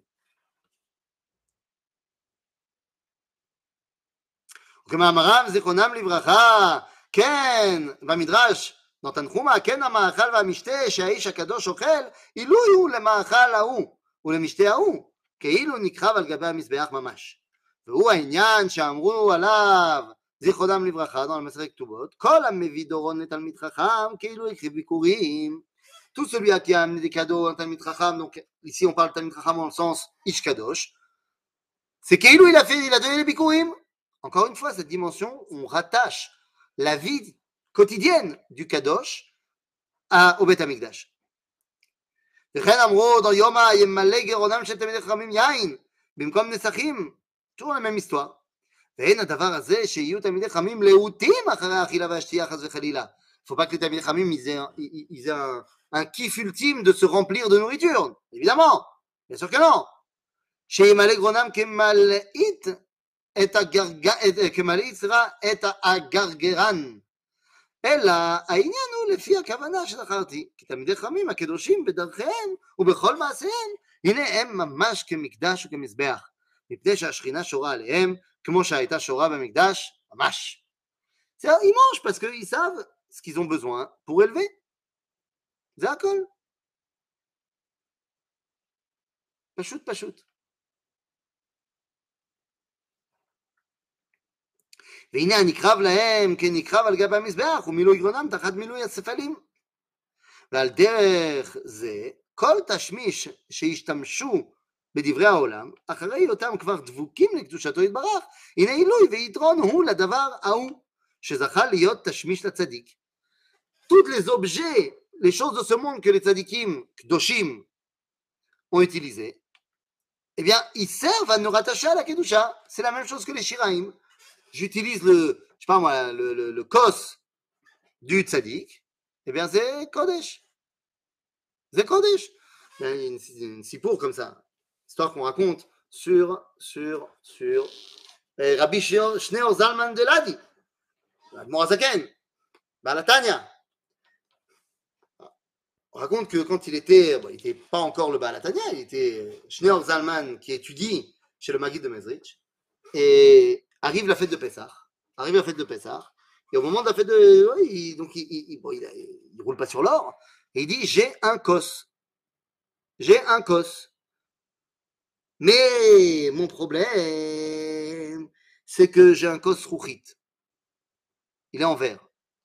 כמאמרם זיכרונם לברכה, כן, במדרש, נותן חומה, כן המאכל והמשתה שהאיש הקדוש אוכל, עילוי הוא למאכל ההוא ולמשתה ההוא, כאילו נקרב על גבי המזבח ממש. והוא העניין שאמרו עליו, זיכרונם לברכה, dans la מסכת כתובות, כל המביא דורון לתלמיד חכם, כאילו הקריב ביקורים. Tout celui qui a amené des cadeaux à un talmid chacham, donc ici on parle de talmid chacham dans le sens ish kadosh, c'est כאילו il a fait, il a donné les bikurim. Encore une fois, cette dimension, on rattache la vie quotidienne du Kadosh à, au Beth HaMikdash. וכן אמרו, dans יומא ימלא גרונם של תלמידי חכמים יין, במקום נסכים, toujours la même histoire. ואין הדבר הזה שיהיו תלמידי חכמים להוטים אחרי האכילה והשתייה חס וחלילה. Il ne faut pas que les תלמידי חכמים ils aient, un, ils aient un, un kiff ultime de se remplir de nourriture. Évidemment, bien sûr que non. שימלא גרונם כמלאית את כמלאית סליחה, את הגרגרן. אלא העניין הוא לפי הכוונה שזכרתי, כי תלמידי חכמים הקדושים בדרכיהם ובכל מעשיהם, הנה הם ממש כמקדש וכמזבח, מפני שהשכינה שורה עליהם, כמו שהייתה שורה במקדש, ממש. C'est-à-dire, ils mangent parce qu'ils savent ce qu'ils ont besoin pour élever. זה הכל. פשוט פשוט. והנה הנקרב להם כנקרב על גבי המזבח ומילוי גרונם תחת מילוי הספלים. ועל דרך זה כל תשמיש שהשתמשו בדברי העולם, אחרי היותם כבר דבוקים לקדושתו יתברך, הנה עילוי ויתרון הוא לדבר ההוא, שזכה להיות תשמיש לצדיק. Toutes les objets, les choses de ce monde que les tzadikim kdoshim ont utilisés, eh bien, ils servent à nous rattacher à la kedusha. C'est la même chose que les shiraim. J'utilise le, je sais pas moi, le, le, le kos du tzadik, eh bien, c'est kodesh. C'est kodesh. Il y a une, une sipour comme ça. Histoire qu'on raconte sur, sur, sur eh, Rabbi Shneur Zalman de Ladi, l'Admor Hazaken, Balatania. On raconte que quand il était, bon, il n'était pas encore le Balatania, il était Shneur Zalman qui étudie chez le Maguid de Mezrich, et arrive la fête de Pessah, arrive la fête de Pessah, et au moment de la fête de, ouais, il, donc il, il, bon, il, il roule pas sur l'or, et il dit j'ai un kos, j'ai un kos. Mais mon problème, c'est que j'ai un kos rouchit. Il est en verre.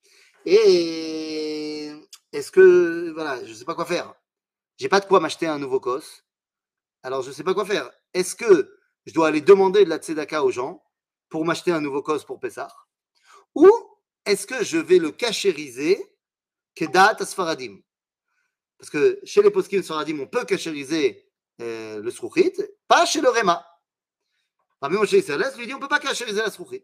Et est-ce que, voilà, je ne sais pas quoi faire. J'ai pas de quoi m'acheter un nouveau kos. Alors je ne sais pas quoi faire. Est-ce que je dois aller demander de la tzedaka aux gens pour m'acheter un nouveau kos pour Pessah? Ou est-ce que je vais le cachériser kedat asfaradim? Parce que chez les poskim sfaradim, on peut cachériser Euh, le srouchit, pas chez le Réma. Rabbi Moshe Isserles lui dit on ne peut pas cachériser la srouchit,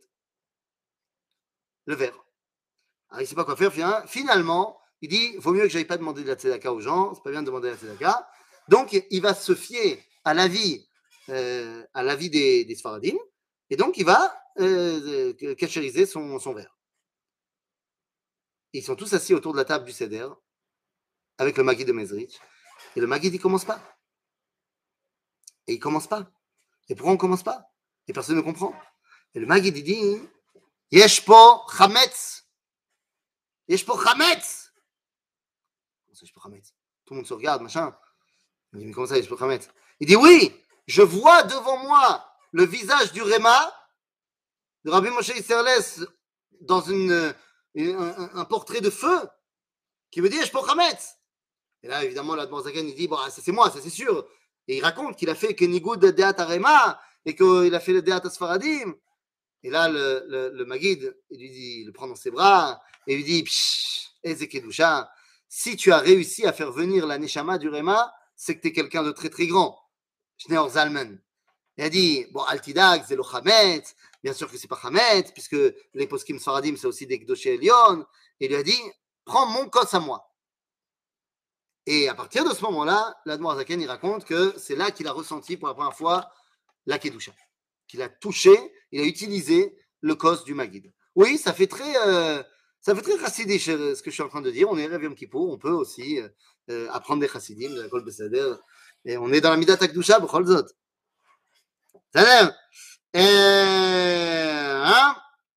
le verre. Alors il ne sait pas quoi faire. Finalement, il dit vaut mieux que je n'aille pas demander de la tzedaka aux gens, c'est pas bien de demander de la tzedaka. Donc il va se fier à l'avis, euh, à l'avis des, des Sfaradim, et donc il va euh, cachériser son, son verre. Ils sont tous assis autour de la table du Seder avec le Maguid de Mezrich, et le Maguid il commence pas. Et il ne commence pas. Et pourquoi on ne commence pas? Et personne ne comprend. Et le Maguid dit Yesh po chametz. Yesh po chametz. Comment ça, yesh po chametz? Tout le monde se regarde, machin. Il dit mais comment ça, yesh po chametz? Il dit oui, je vois devant moi le visage du Réma, de Rabbi Moshe Isserles, dans une, une, un, un portrait de feu, qui me dit Yesh po chametz. Et là, évidemment, l'Admor Zaken, il dit bon, ça c'est moi, ça c'est sûr. Et il raconte qu'il a fait Kenigud de Deat Arema et qu'il a fait le Deat Asfaradim. Et là, le, le, le Maguid, il lui dit, il le prend dans ses bras et lui dit Eze Kedusha, si tu as réussi à faire venir la Neshama du Rema, c'est que tu es quelqu'un de très très grand. Shneur Zalman. Il a dit bon, Altidag, c'est le Chametz. Bien sûr que c'est pas Chametz, puisque les poskim Sfaradim, c'est aussi des Gdoshé Elion. Et il lui a dit prends mon kos à moi. Et à partir de ce moment-là, l'Admor Hazaken, il raconte que c'est là qu'il a ressenti pour la première fois la Kedusha. Qu'il a touché, il a utilisé le kos du Maguid. Oui, ça fait très, euh, ça fait très chassidique ce que je suis en train de dire. On est Rev Yom Kippour, on peut aussi euh, apprendre des chassidim, de la Kol Beseder. Et on est dans la Midat HaKedusha, b'chol zot. C'est-à-dire, hein?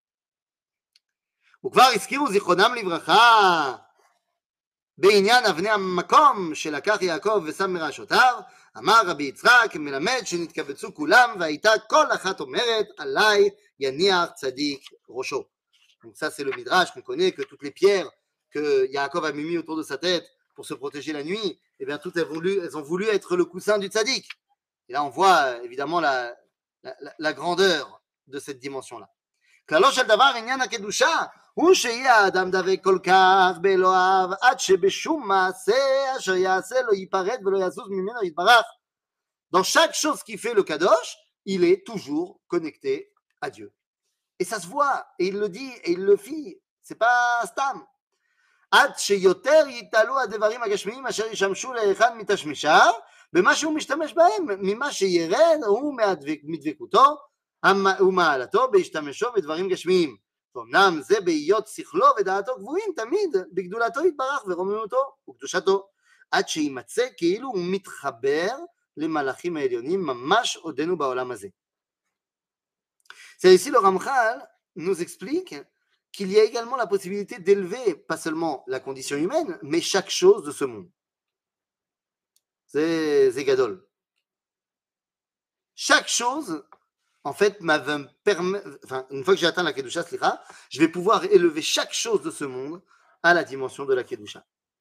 וכבר הזכירו זיכרונם לברכה בעניין אבני המקום שלקח יעקב ושם מראשותיו, אמר רבי יצחק מלמד שנתקבצו כולם והייתה כל אחת אומרת עליי יניח צדיק ראשו. Donc ça c'est le midrash qu'on connaît, que toutes les pierres que Yaakov a mis autour de sa tête pour se protéger la nuit, eh bien toutes elles, voulu, elles ont voulu être le coussin du tzaddik. Et là on voit évidemment la, la, la, la grandeur de cette dimension-là. כללו של דבר עניין הקדושה הוא שיהיה האדם דבק כל כך באלוהיו עד שבשום מעשה אשר יעשה לא ייפרד ולא יזוז ממנו יתברך. Dans chaque chose qui fait le kadosh, il est toujours connecté à Dieu. Et ça se voit, et il le dit, et il le fit, c'est pas stam. עד שיותר יתעלו הדברים הגשמיים אשר ישמשו לאחד מתשמישיו במה שהוא משתמש בהם, ממה שירד הוא מדבקותו ומעלתו בהשתמשו בדברים גשמיים. ואומנם זה בהיות שכלו ודעתו גבוהים תמיד בגדולתו יתברך ורוממותו וקדושתו, עד שימצא כאילו הוא מתחבר למלאכים העליונים ממש עודנו בעולם הזה. C'est ici le Ramchal nous explique qu'il y a également la possibilité d'élever pas seulement la condition humaine, mais chaque chose de ce monde. C'est Gadol. Chaque chose, en fait, me permet, enfin, une fois que j'ai atteint la Kedusha, je vais pouvoir élever chaque chose de ce monde à la dimension de la Kedusha.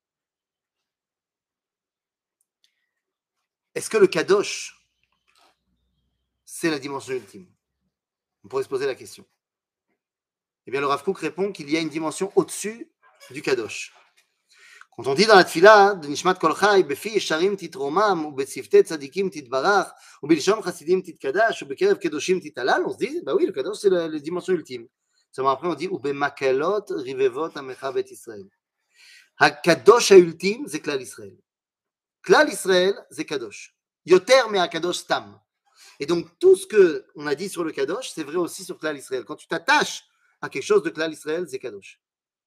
Est-ce que le Kadosh, c'est la dimension ultime? On pourrait se poser la question. Eh bien, le Rav Kook répond qu'il y a une dimension au-dessus du Kadosh. Quand on dit dans la tfila de Nishmat Kol Chai, Befi Yesharim titromam, ou Betzifte Tzadikim titbarach, ou Bilsham Chasidim titkadash, ou Bekerev Kedoshim titalal, on se dit, bah oui, le Kadosh, c'est la, la dimension ultime. Seulement après, on dit, ou Bemakalot Rivevot Amecha Bet Israël. HaKadosh ultime, c'est Klal Israël. Klal Israël, c'est Kadosh. Yoter me HaKadosh Stam. Et donc, tout ce qu'on a dit sur le Kadosh, c'est vrai aussi sur Klal Israël. Quand tu t'attaches à quelque chose de Klal Israël, c'est Kadosh.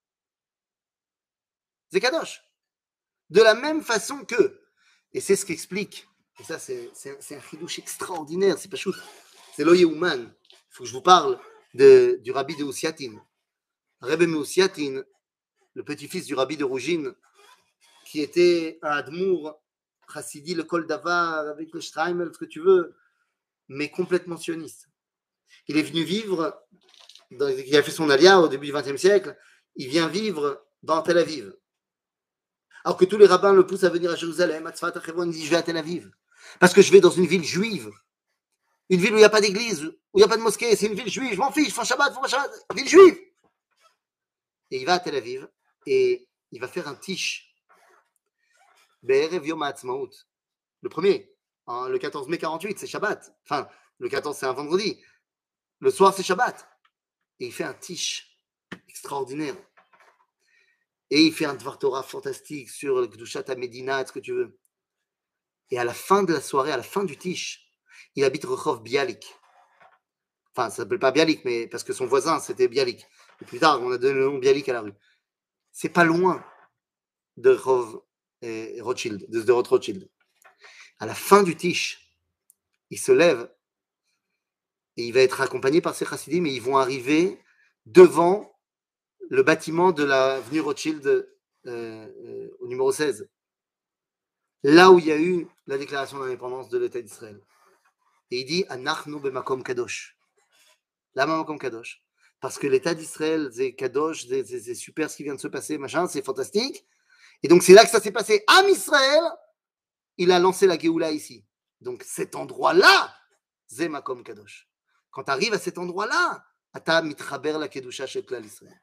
C'est Kadosh. De la même façon que, et c'est ce qu'explique, et ça c'est, c'est, c'est un chidouche extraordinaire, c'est pas chou, c'est lo Yehuman. Il faut que je vous parle de, du rabbi de Ousiatin. Rebbe Meusiatin, le petit-fils du rabbi de Rougine, qui était un Admour, Chassidi, le Kol Davar, avec le Streimel, ce que tu veux, mais complètement sioniste. Il est venu vivre, dans, il a fait son alia au début du vingtième siècle, il vient vivre dans Tel Aviv. Alors que tous les rabbins le poussent à venir à Jérusalem, à Tzfat, à Hebron, il dit je vais à Tel Aviv. Parce que je vais dans une ville juive. Une ville où il n'y a pas d'église, où il n'y a pas de mosquée, c'est une ville juive, je m'en fiche, faut Shabbat, faut Shabbat, ville juive. Et il va à Tel Aviv et il va faire un tish. Be'erev Yom HaAtzmaut. Le premier, hein, le quatorze mai quarante-huit, c'est Shabbat. Enfin, le quatorze, c'est un vendredi. Le soir, c'est Shabbat. Et il fait un tish extraordinaire. Et il fait un Dvar Torah fantastique sur le Kedushat HaMedina, ce que tu veux. Et à la fin de la soirée, à la fin du tish, il habite Rehov Bialik. Enfin, ça ne s'appelle pas Bialik, mais parce que son voisin, c'était Bialik. Et plus tard, on a donné le nom Bialik à la rue. C'est pas loin de Rehov et Rothschild, de Sderot Rothschild. À la fin du tish, il se lève et il va être accompagné par ses chassidim et ils vont arriver devant le bâtiment de l'avenue Rothschild euh, euh, au numéro seize. Là où il y a eu la déclaration d'indépendance de l'État d'Israël. Et il dit Anachnu b'makom kadosh. Là, makom kadosh. Parce que l'État d'Israël, c'est kadosh, c'est, c'est, c'est super ce qui vient de se passer, machin, c'est fantastique. Et donc, c'est là que ça s'est passé. Am Israël, il a lancé la Géoula ici. Donc, cet endroit-là, c'est makom kadosh. Quand tu arrives à cet endroit-là, ata mitchaber la kedusha shel klal Israël.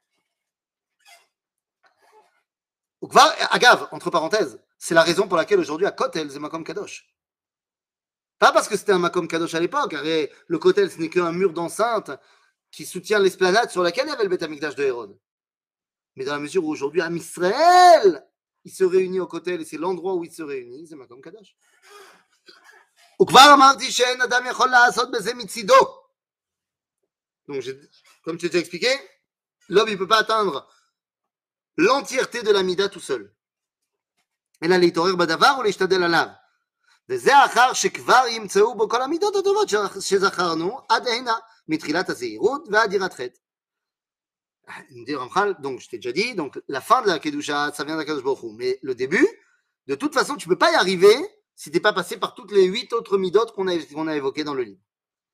Agav, entre parenthèses, c'est la raison pour laquelle aujourd'hui à Kotel, c'est Makom Kadosh. Pas parce que c'était un Makom Kadosh à l'époque, car le Kotel, ce n'est qu'un mur d'enceinte qui soutient l'esplanade sur laquelle il y avait le Beth Amikdash de Hérode. Mais dans la mesure où aujourd'hui, Am Israël, il se réunit au Kotel et c'est l'endroit où il se réunit, c'est Makom Kadosh. Donc, comme tu t'ai expliqué, l'homme, il ne peut pas atteindre l'entièreté de la Mida tout seul. אלא להתעורר בדבר ולהשתדל עליו. וזה אחר שכבר ימצאו בו כל המידות הטובות שזכרנו עד הנה, מתחילת הזהירות ועד יראת חטא. Donc, je t'ai déjà dit, donc la fin de la Kedusha, ça vient d'Akadosh Baruch Hu. Mais le début, de toute façon, tu ne peux pas y arriver si tu n'es pas passé par toutes les huit autres midot qu'on a, qu'on a évoquées dans le livre.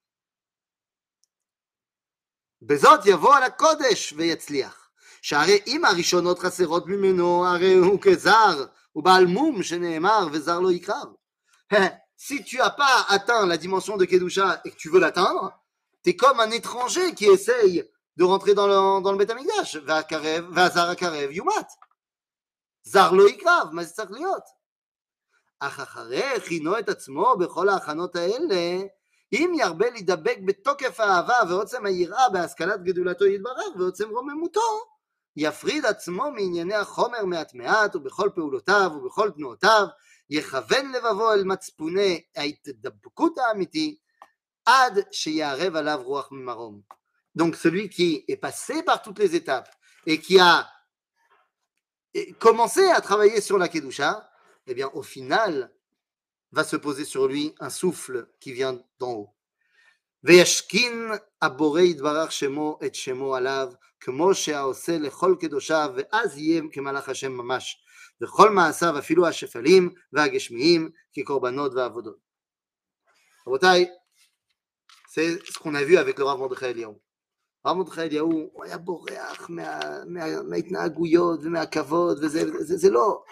בזאת יבוא על הקודש ויצליח. שהרי אם הראשונות חסרות ממנו, הרי הוא כזר, ou Baal Moum, Sheneemar, Vezar lo Ikrav. Si tu n'as pas atteint la dimension de Kedusha et que tu veux l'atteindre, tu es comme un étranger qui essaye de rentrer dans le, dans le Beth Amikdash. Vazar Akarev Yumat. Zar lo Ikrav, מה זה צריך להיות? אך אחרי הכינו את עצמו בכל ההכנות האלה, אם ירבה להידבק בתוקף האהבה ועוצם היראה בהשכלת גדולתו יתברך ועוצם רוממותו, יפריד עצמו מענייני החומר מעט מעט ובכל פעולותיו ובכל תנועותיו, יכוון לבבו אל מצפוני ההתדבקות האמיתי, עד שיערב עליו רוח ממרום. Donc celui qui est passé par toutes les étapes et qui a commencé à travailler sur la Kedusha, eh bien au final va se poser sur lui un souffle qui vient d'en haut. וישכין הבורא יתברך שמו את שמו עליו, כמו שהעושה לכל קדושיו, ואז יהיה כמלאך השם ממש, וכל מעשיו אפילו השפלים והגשמיים כקורבנות ועבודות. רבותיי, c'est ce qu'on a vu avec le Rav Mordechai Eliyahu. הרב מרדכי אליהו, הוא היה בורח מה, מה, מההתנהגויות ומהכבוד, וזה זה, זה לא.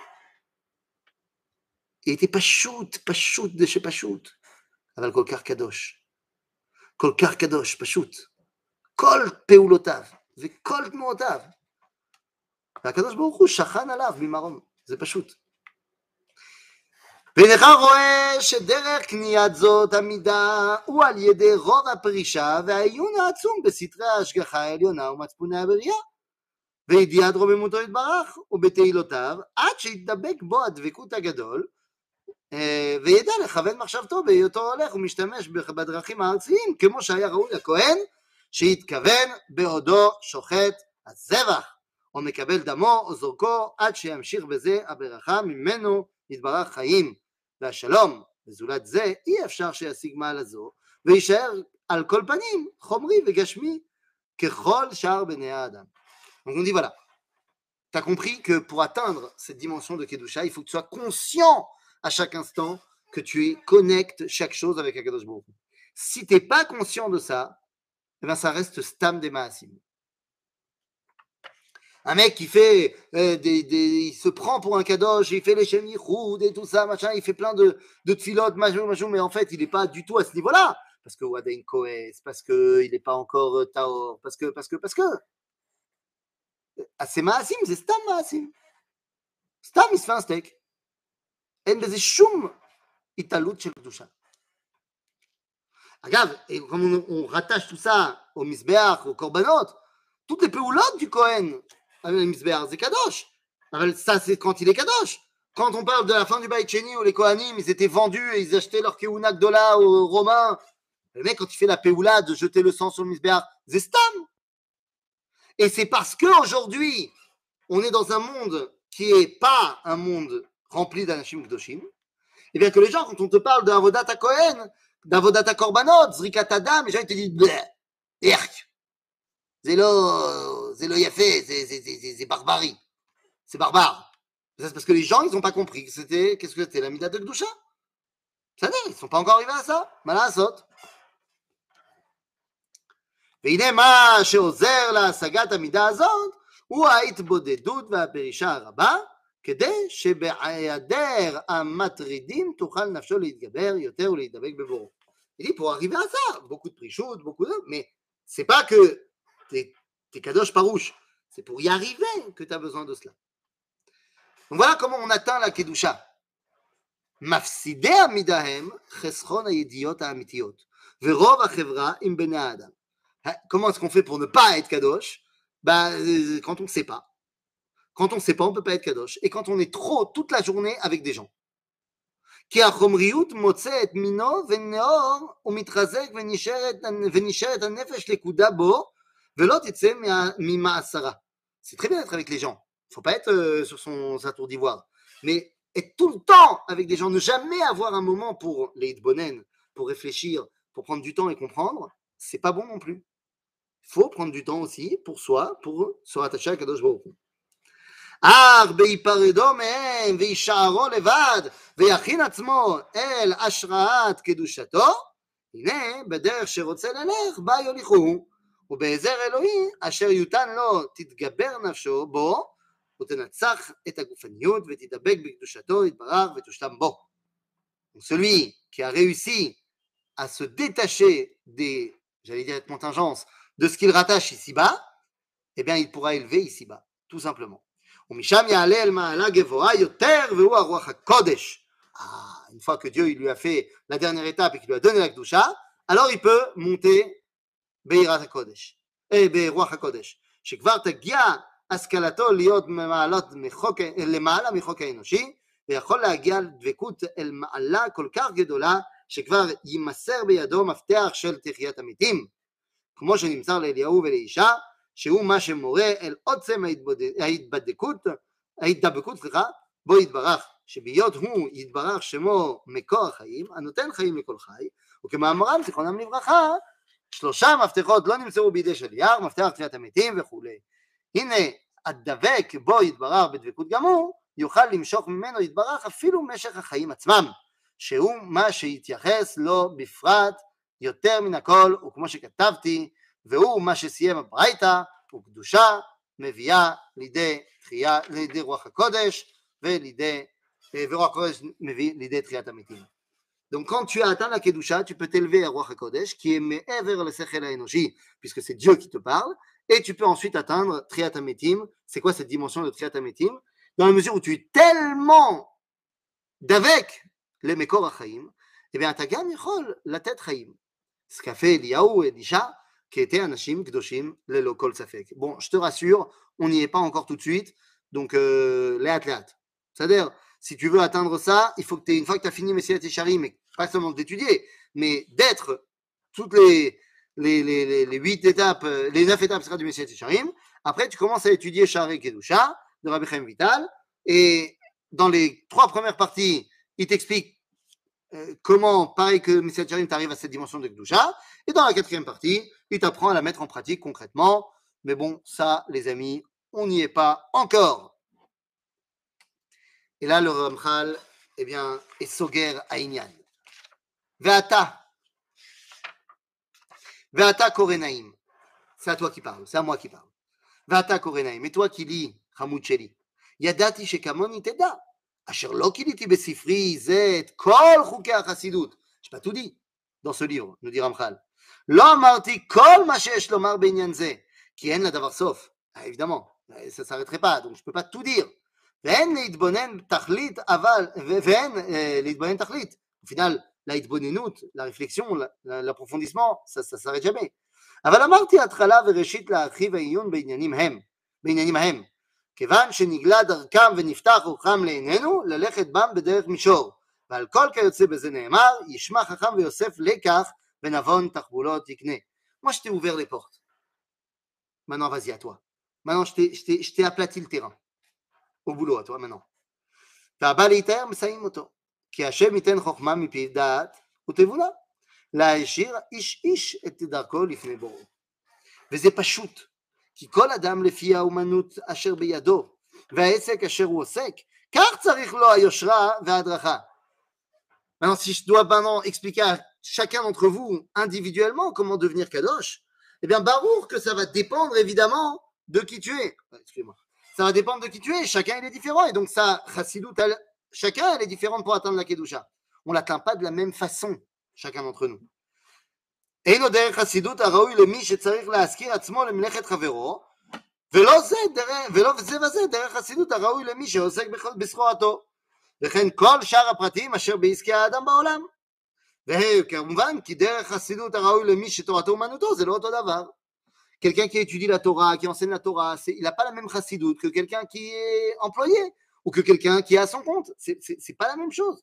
הייתי פשוט, פשוט זה שפשוט, אבל כל כך קדוש. כל כך קדוש, פשוט. כל פעולותיו וכל תנועותיו. והקדוש ברוך הוא שכן עליו ממרום, זה פשוט. והנך רואה שדרך קניית זאת המידה הוא על ידי רוב הפרישה והעיון העצום בסתרי ההשגחה העליונה ומצפוני הבריאה וידיעת רוממותו יתברך ובתהילותיו עד שיתדבק בו הדבקות הגדול וידע לכוון מחשבתו בהיותו הולך ומשתמש בדרכים הארציים כמו שהיה ראוי לכהן שיתכוון בעודו שוחט הזבח או מקבל דמו או זורקו עד שימשיך בזה הברכה ממנו יתברך חיים והשלום, וזולת זה אי אפשר שישיג מעלה זו וישאר על כל פנים חומרי וגשמי ככל שאר בני האדם. Donc on dit voilà, tu as compris que pour atteindre cette dimension de Kedusha, il faut que tu sois conscient à chaque instant que tu connectes chaque chose avec Akadosh Baruch Hu. Si tu n'es pas conscient de ça, eh bien ça reste stam des maasim. Un mec qui fait euh, des, des, il se prend pour un kadosh, il fait les Shem Yichud et tout ça, machin, il fait plein de, de tfilotes, machin, machin, mais en fait, il n'est pas du tout à ce niveau-là. Parce que Wadain Koes, parce qu'il n'est pas encore euh, Taor, parce que, parce que, parce que. Ah, c'est Maasim, c'est Stam Maasim. Stam, il se fait un steak. En beze shum italut shel kedusha. Regarde, et comme on, on rattache tout ça au Mizbeach, au Korbanot, toutes les péoulotes du Kohen, le Mizbeach, c'est Kadosh. Ça, c'est quand il est Kadosh. Quand on parle de la fin du Beit Sheni où les Kohanim, ils étaient vendus et ils achetaient leur Keuna Gdola aux Romains. Le mec, quand il fait la péoula de jeter le sang sur le Mizbeach, c'est Stam. Et c'est parce qu'aujourd'hui, on est dans un monde qui n'est pas un monde rempli d'Anashim Kdoshim, et bien que les gens, quand on te parle d'Avodat HaKohen, d'Avodat HaKorbanot, Zrikat Adam, les gens ils te disent bleh, erk. C'est lo, c'est lo yafé, c'est, c'est, c'est, c'est barbarie. C'est barbare. C'est parce que les gens, ils n'ont pas compris que c'était, qu'est-ce que c'était, la Mida de Kedusha. Ça n'est, ils ne sont pas encore arrivés à ça. Malasot. והנה מה שעוזר להשגת המידה הזאת הוא ההתבודדות והפרישה הרבה כדי שבהיעדר המטרידים תוכל נפשו להתגבר יותר ולהתדבק בבורו. Il dit pour arriver à ça, beaucoup de prichout, beaucoup de... mais c'est pas que t'es, t'es kadosh parouche, c'est pour y arriver que tu as besoin de cela. Donc voilà comment on atteint la kedusha. מפסידי המידהם חסכון הידיעות האמיתיות ורוב החברה עם בני האדם. Comment est-ce qu'on fait pour ne pas être kadosh? Bah, quand on ne sait pas. Quand on ne sait pas, on ne peut pas être kadosh. Et quand on est trop toute la journée avec des gens. כי החומריות מוצאת מינו ונאור ומתחזק ונשארת הנפש לכודה בו ולא תצא ממעשרה. C'est très bien d'être avec les gens. Il ne faut pas être euh, sur son, sa tour d'ivoire. Mais être tout le temps avec des gens, ne jamais avoir un moment pour les hitbonen, pour réfléchir, pour prendre du temps et comprendre, c'est pas bon non plus. Il faut prendre du temps aussi pour soi, pour se rattacher à Kadosh Baruch Hu. אך בהיפרדו מהם וישארו לבד ויכין עצמו אל השראת קדושתו, הנה בדרך שרוצה ללך בה יוליכוהו, ובעזר אלוהי אשר יותן לו תתגבר נפשו בו ותנצח את הגופניות ותדבק בקדושתו יתברך ותושלם בו. Celui qui a réussi à se détacher des, j'allais dire contingences, de ce qu'il rattache ici-bas, eh bien il pourra élever ici-bas, tout simplement. ומשם יעלה אל מעלה גבוהה יותר והוא הרוח הקודש. Ah, une fois que Dieu il lui a fait la dernière étape et qu'il lui a donné la Kedusha, alors il peut monter ביראת הקודש, אה, ברוח הקודש, שכבר תגיע השכלתו להיות מחוק, למעלה מחוק האנושי, ויכול להגיע לדבקות אל מעלה כל כך גדולה, שכבר יימסר בידו מפתח של תחיית המתים, כמו שנמסר לאליהו ולאישה, שהוא מה שמורה אל עוצם ההתבדקות, ההתדבקות, סליחה, בו יתברך, שבהיות הוא יתברך שמו מקור החיים, הנותן חיים לכל חי, וכמאמרם זיכרונם לברכה, שלושה מפתחות לא נמצאו בידי שליח, מפתח תחיית המתים וכולי. הנה, הדבק בו יתברך בדבקות גמור, יוכל למשוך ממנו יתברך אפילו משך החיים עצמם, שהוא מה שהתייחס לו בפרט יותר מן הכל, וכמו שכתבתי, והוא מה שסיים הברייתא, וקדושה מביאה לידי תחייה, לידי רוח הקודש, ולידי, ורוח הקודש מביא לידי תחיית המתים. Donc quand tu as atteint la Kedusha, tu peux t'élever à Roi HaKodesh, qui est me'ever le sechel haenoshi, puisque c'est Dieu qui te parle, et tu peux ensuite atteindre Triat HaMetim. C'est quoi cette dimension de Triat HaMetim? Dans la mesure où tu es tellement d'avec les Mekor HaChaim, eh bien, tu as gam yachol la tête Chaim. Ce qu'a fait Eliyahu et Elisha, qui étaient Anashim Kdoshim lelo kol safek. Bon, je te rassure, on n'y est pas encore tout de suite, donc euh, léat léat. C'est-à-dire, si tu veux atteindre ça, il faut que tu aies, une fois que tu as fini Messilat Yesharim, mais pas seulement d'étudier, mais d'être toutes les, les, les, les, les huit étapes, les neuf étapes du Messilat Yesharim. Après, tu commences à étudier Sha'arei Kedusha de Rabbi Chaim Vital, et dans les trois premières parties, il t'explique euh, comment, pareil que Messilat Yesharim, tu arrives à cette dimension de Kedusha, et dans la quatrième partie, il t'apprend à la mettre en pratique concrètement. Mais bon, ça, les amis, on n'y est pas encore. Et là, le Ramchal, eh bien, est soger Aïnyan. Ve'ata. Ve'ata korenaim. C'est à toi qui parle, c'est à moi qui parle. Ve'ata korenaim. Et toi qui lis, Hamoud Sheli. Yadati shekamoni teda. Asher lo kiliti besifri zet kol chukei hachassidut. Je n'ai pas tout dit dans ce livre, nous dit Ramchal. Lo amarti kol ma sheyesh lomar be'inyan ze. Ki en la davar sof. Ah, évidemment, ça ne s'arrêterait pas, donc je ne peux pas tout dire. ואין להתבונן תכלית, אבל, ואין אה, להתבונן תכלית. Au final, ההתבוננות, la réflexion, l'approfondissement, ça ne s'arrête jamais. אבל אמרתי התחלה וראשית להרחיב העיון בעניינים הם, בעניינים ההם. כיוון שנגלה דרכם ונפתח רוחם לעינינו, ללכת בם בדרך מישור. ועל כל כיוצא בזה נאמר, ישמע חכם ויוסף לקח, ונבון תחבולות יקנה. Moi, je t'ai ouvert les portes. Maintenant, vas-y, à toi. Maintenant, je t'ai, je t'ai, je t'ai aplati le terrain. Au boulot, à toi maintenant. והבא להתאר מסיים אותו. כי השם ייתן חוכמה מפיו דעת ותבונה. להשאיר איש איש את דרכו לפני בוראו. וזה פשוט. כי כל אדם לפי האומנות אשר בידו, והעסק אשר הוא עוסק, כך צריך לו היושרה וההדרכה. Maintenant, si je dois maintenant expliquer à chacun d'entre vous individuellement comment devenir kadosh, eh bien, barour que ça va dépendre évidemment de qui tu es. Excusez-moi. Ça va dépendre de qui tu es, chacun il est différent, et donc ça, chassidut, chacun elle est différente pour atteindre la kedusha. On ne l'atteint pas de la même façon, chacun d'entre nous. אין עוד דרך חסידות הראוי למי שצריך להזכיר עצמו למלאכת חברו, ולא זה, ולא זה וזה דרך חסידות הראוי למי שעוסק בסחורתו, וכן כל שאר הפרטים אשר בעסקי האדם בעולם. וכמובן כי דרך חסידות הראוי למי שתורתו אומנותו זה לא אותו דבר. Quelqu'un qui étudie la Torah, qui enseigne la Torah, c'est, il n'a pas la même chassidut que quelqu'un qui est employé ou que quelqu'un qui est à son compte. C'est, c'est, c'est pas la même chose.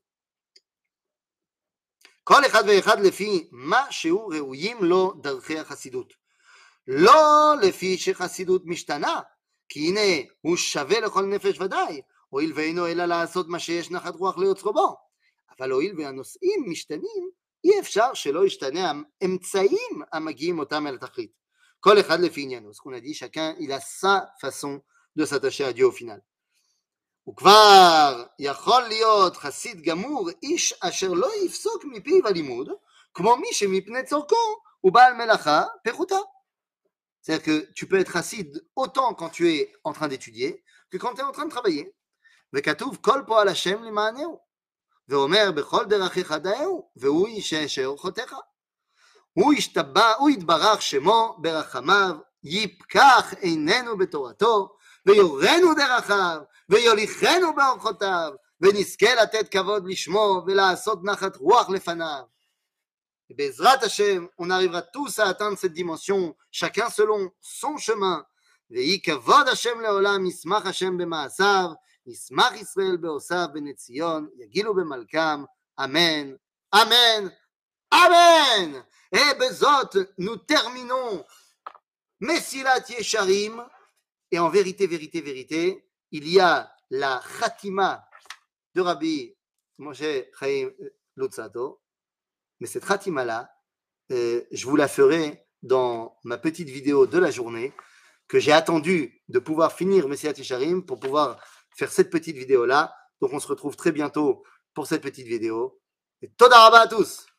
כל אחד ואחד לפי מה שהוא ראויים לו דרכי החסידות. לא לפי שחסידות משתנה, כי הנה הוא שווה לכל נפש ודאי, הואיל ואינו אלא לעשות מה שיש נחת רוח ליוצרו בו. אבל הואיל והנושאים משתנים, אי אפשר שלא ישתנה האמצעים המגיעים אותם אל התכלית. כל אחד לפי עניינו. Ce qu'on a dit, chacun il a sa façon de s'attacher à Dieu au final. וכבר יכול להיות חסיד גמור איש אשר לא יפסוק מפיו הלימוד, כמו מי שמפני צורכו הוא בעל מלאכה פחותה. C'est-à-dire que tu peux être chassid autant quand tu es en train d'étudier que quand tu es en train de travailler. וכתוב כל פועל השם למענהו, ואומר בכל דרכיך דעהו, והוא ישעשע אורחותיך. הוא ישתבח, הוא יתברך שמו ברחמיו, יפקח עינינו בתורתו, ויורנו דרכיו, ויוליכנו באורחותיו, ונזכה לתת כבוד לשמו, ולעשות נחת רוח לפניו. Et Bezrat Hashem, on arrivera tous à atteindre cette dimension, chacun selon son chemin. ויהי כבוד השם לעולם, ישמח השם במעשיו, ישמח ישראל בעושיו בני ציון, יגילו במלכם, אמן, אמן, amen. Et bezot, nous terminons Mesilat Yesharim, et en vérité, vérité, vérité, il y a la Khatima de Rabbi Moshe Chaim Luzzatto, mais cette Khatima-là, euh, je vous la ferai dans ma petite vidéo de la journée, que j'ai attendu de pouvoir finir Messiat Yesharim pour pouvoir faire cette petite vidéo-là. Donc on se retrouve très bientôt pour cette petite vidéo. Et Toda Rabba à tous!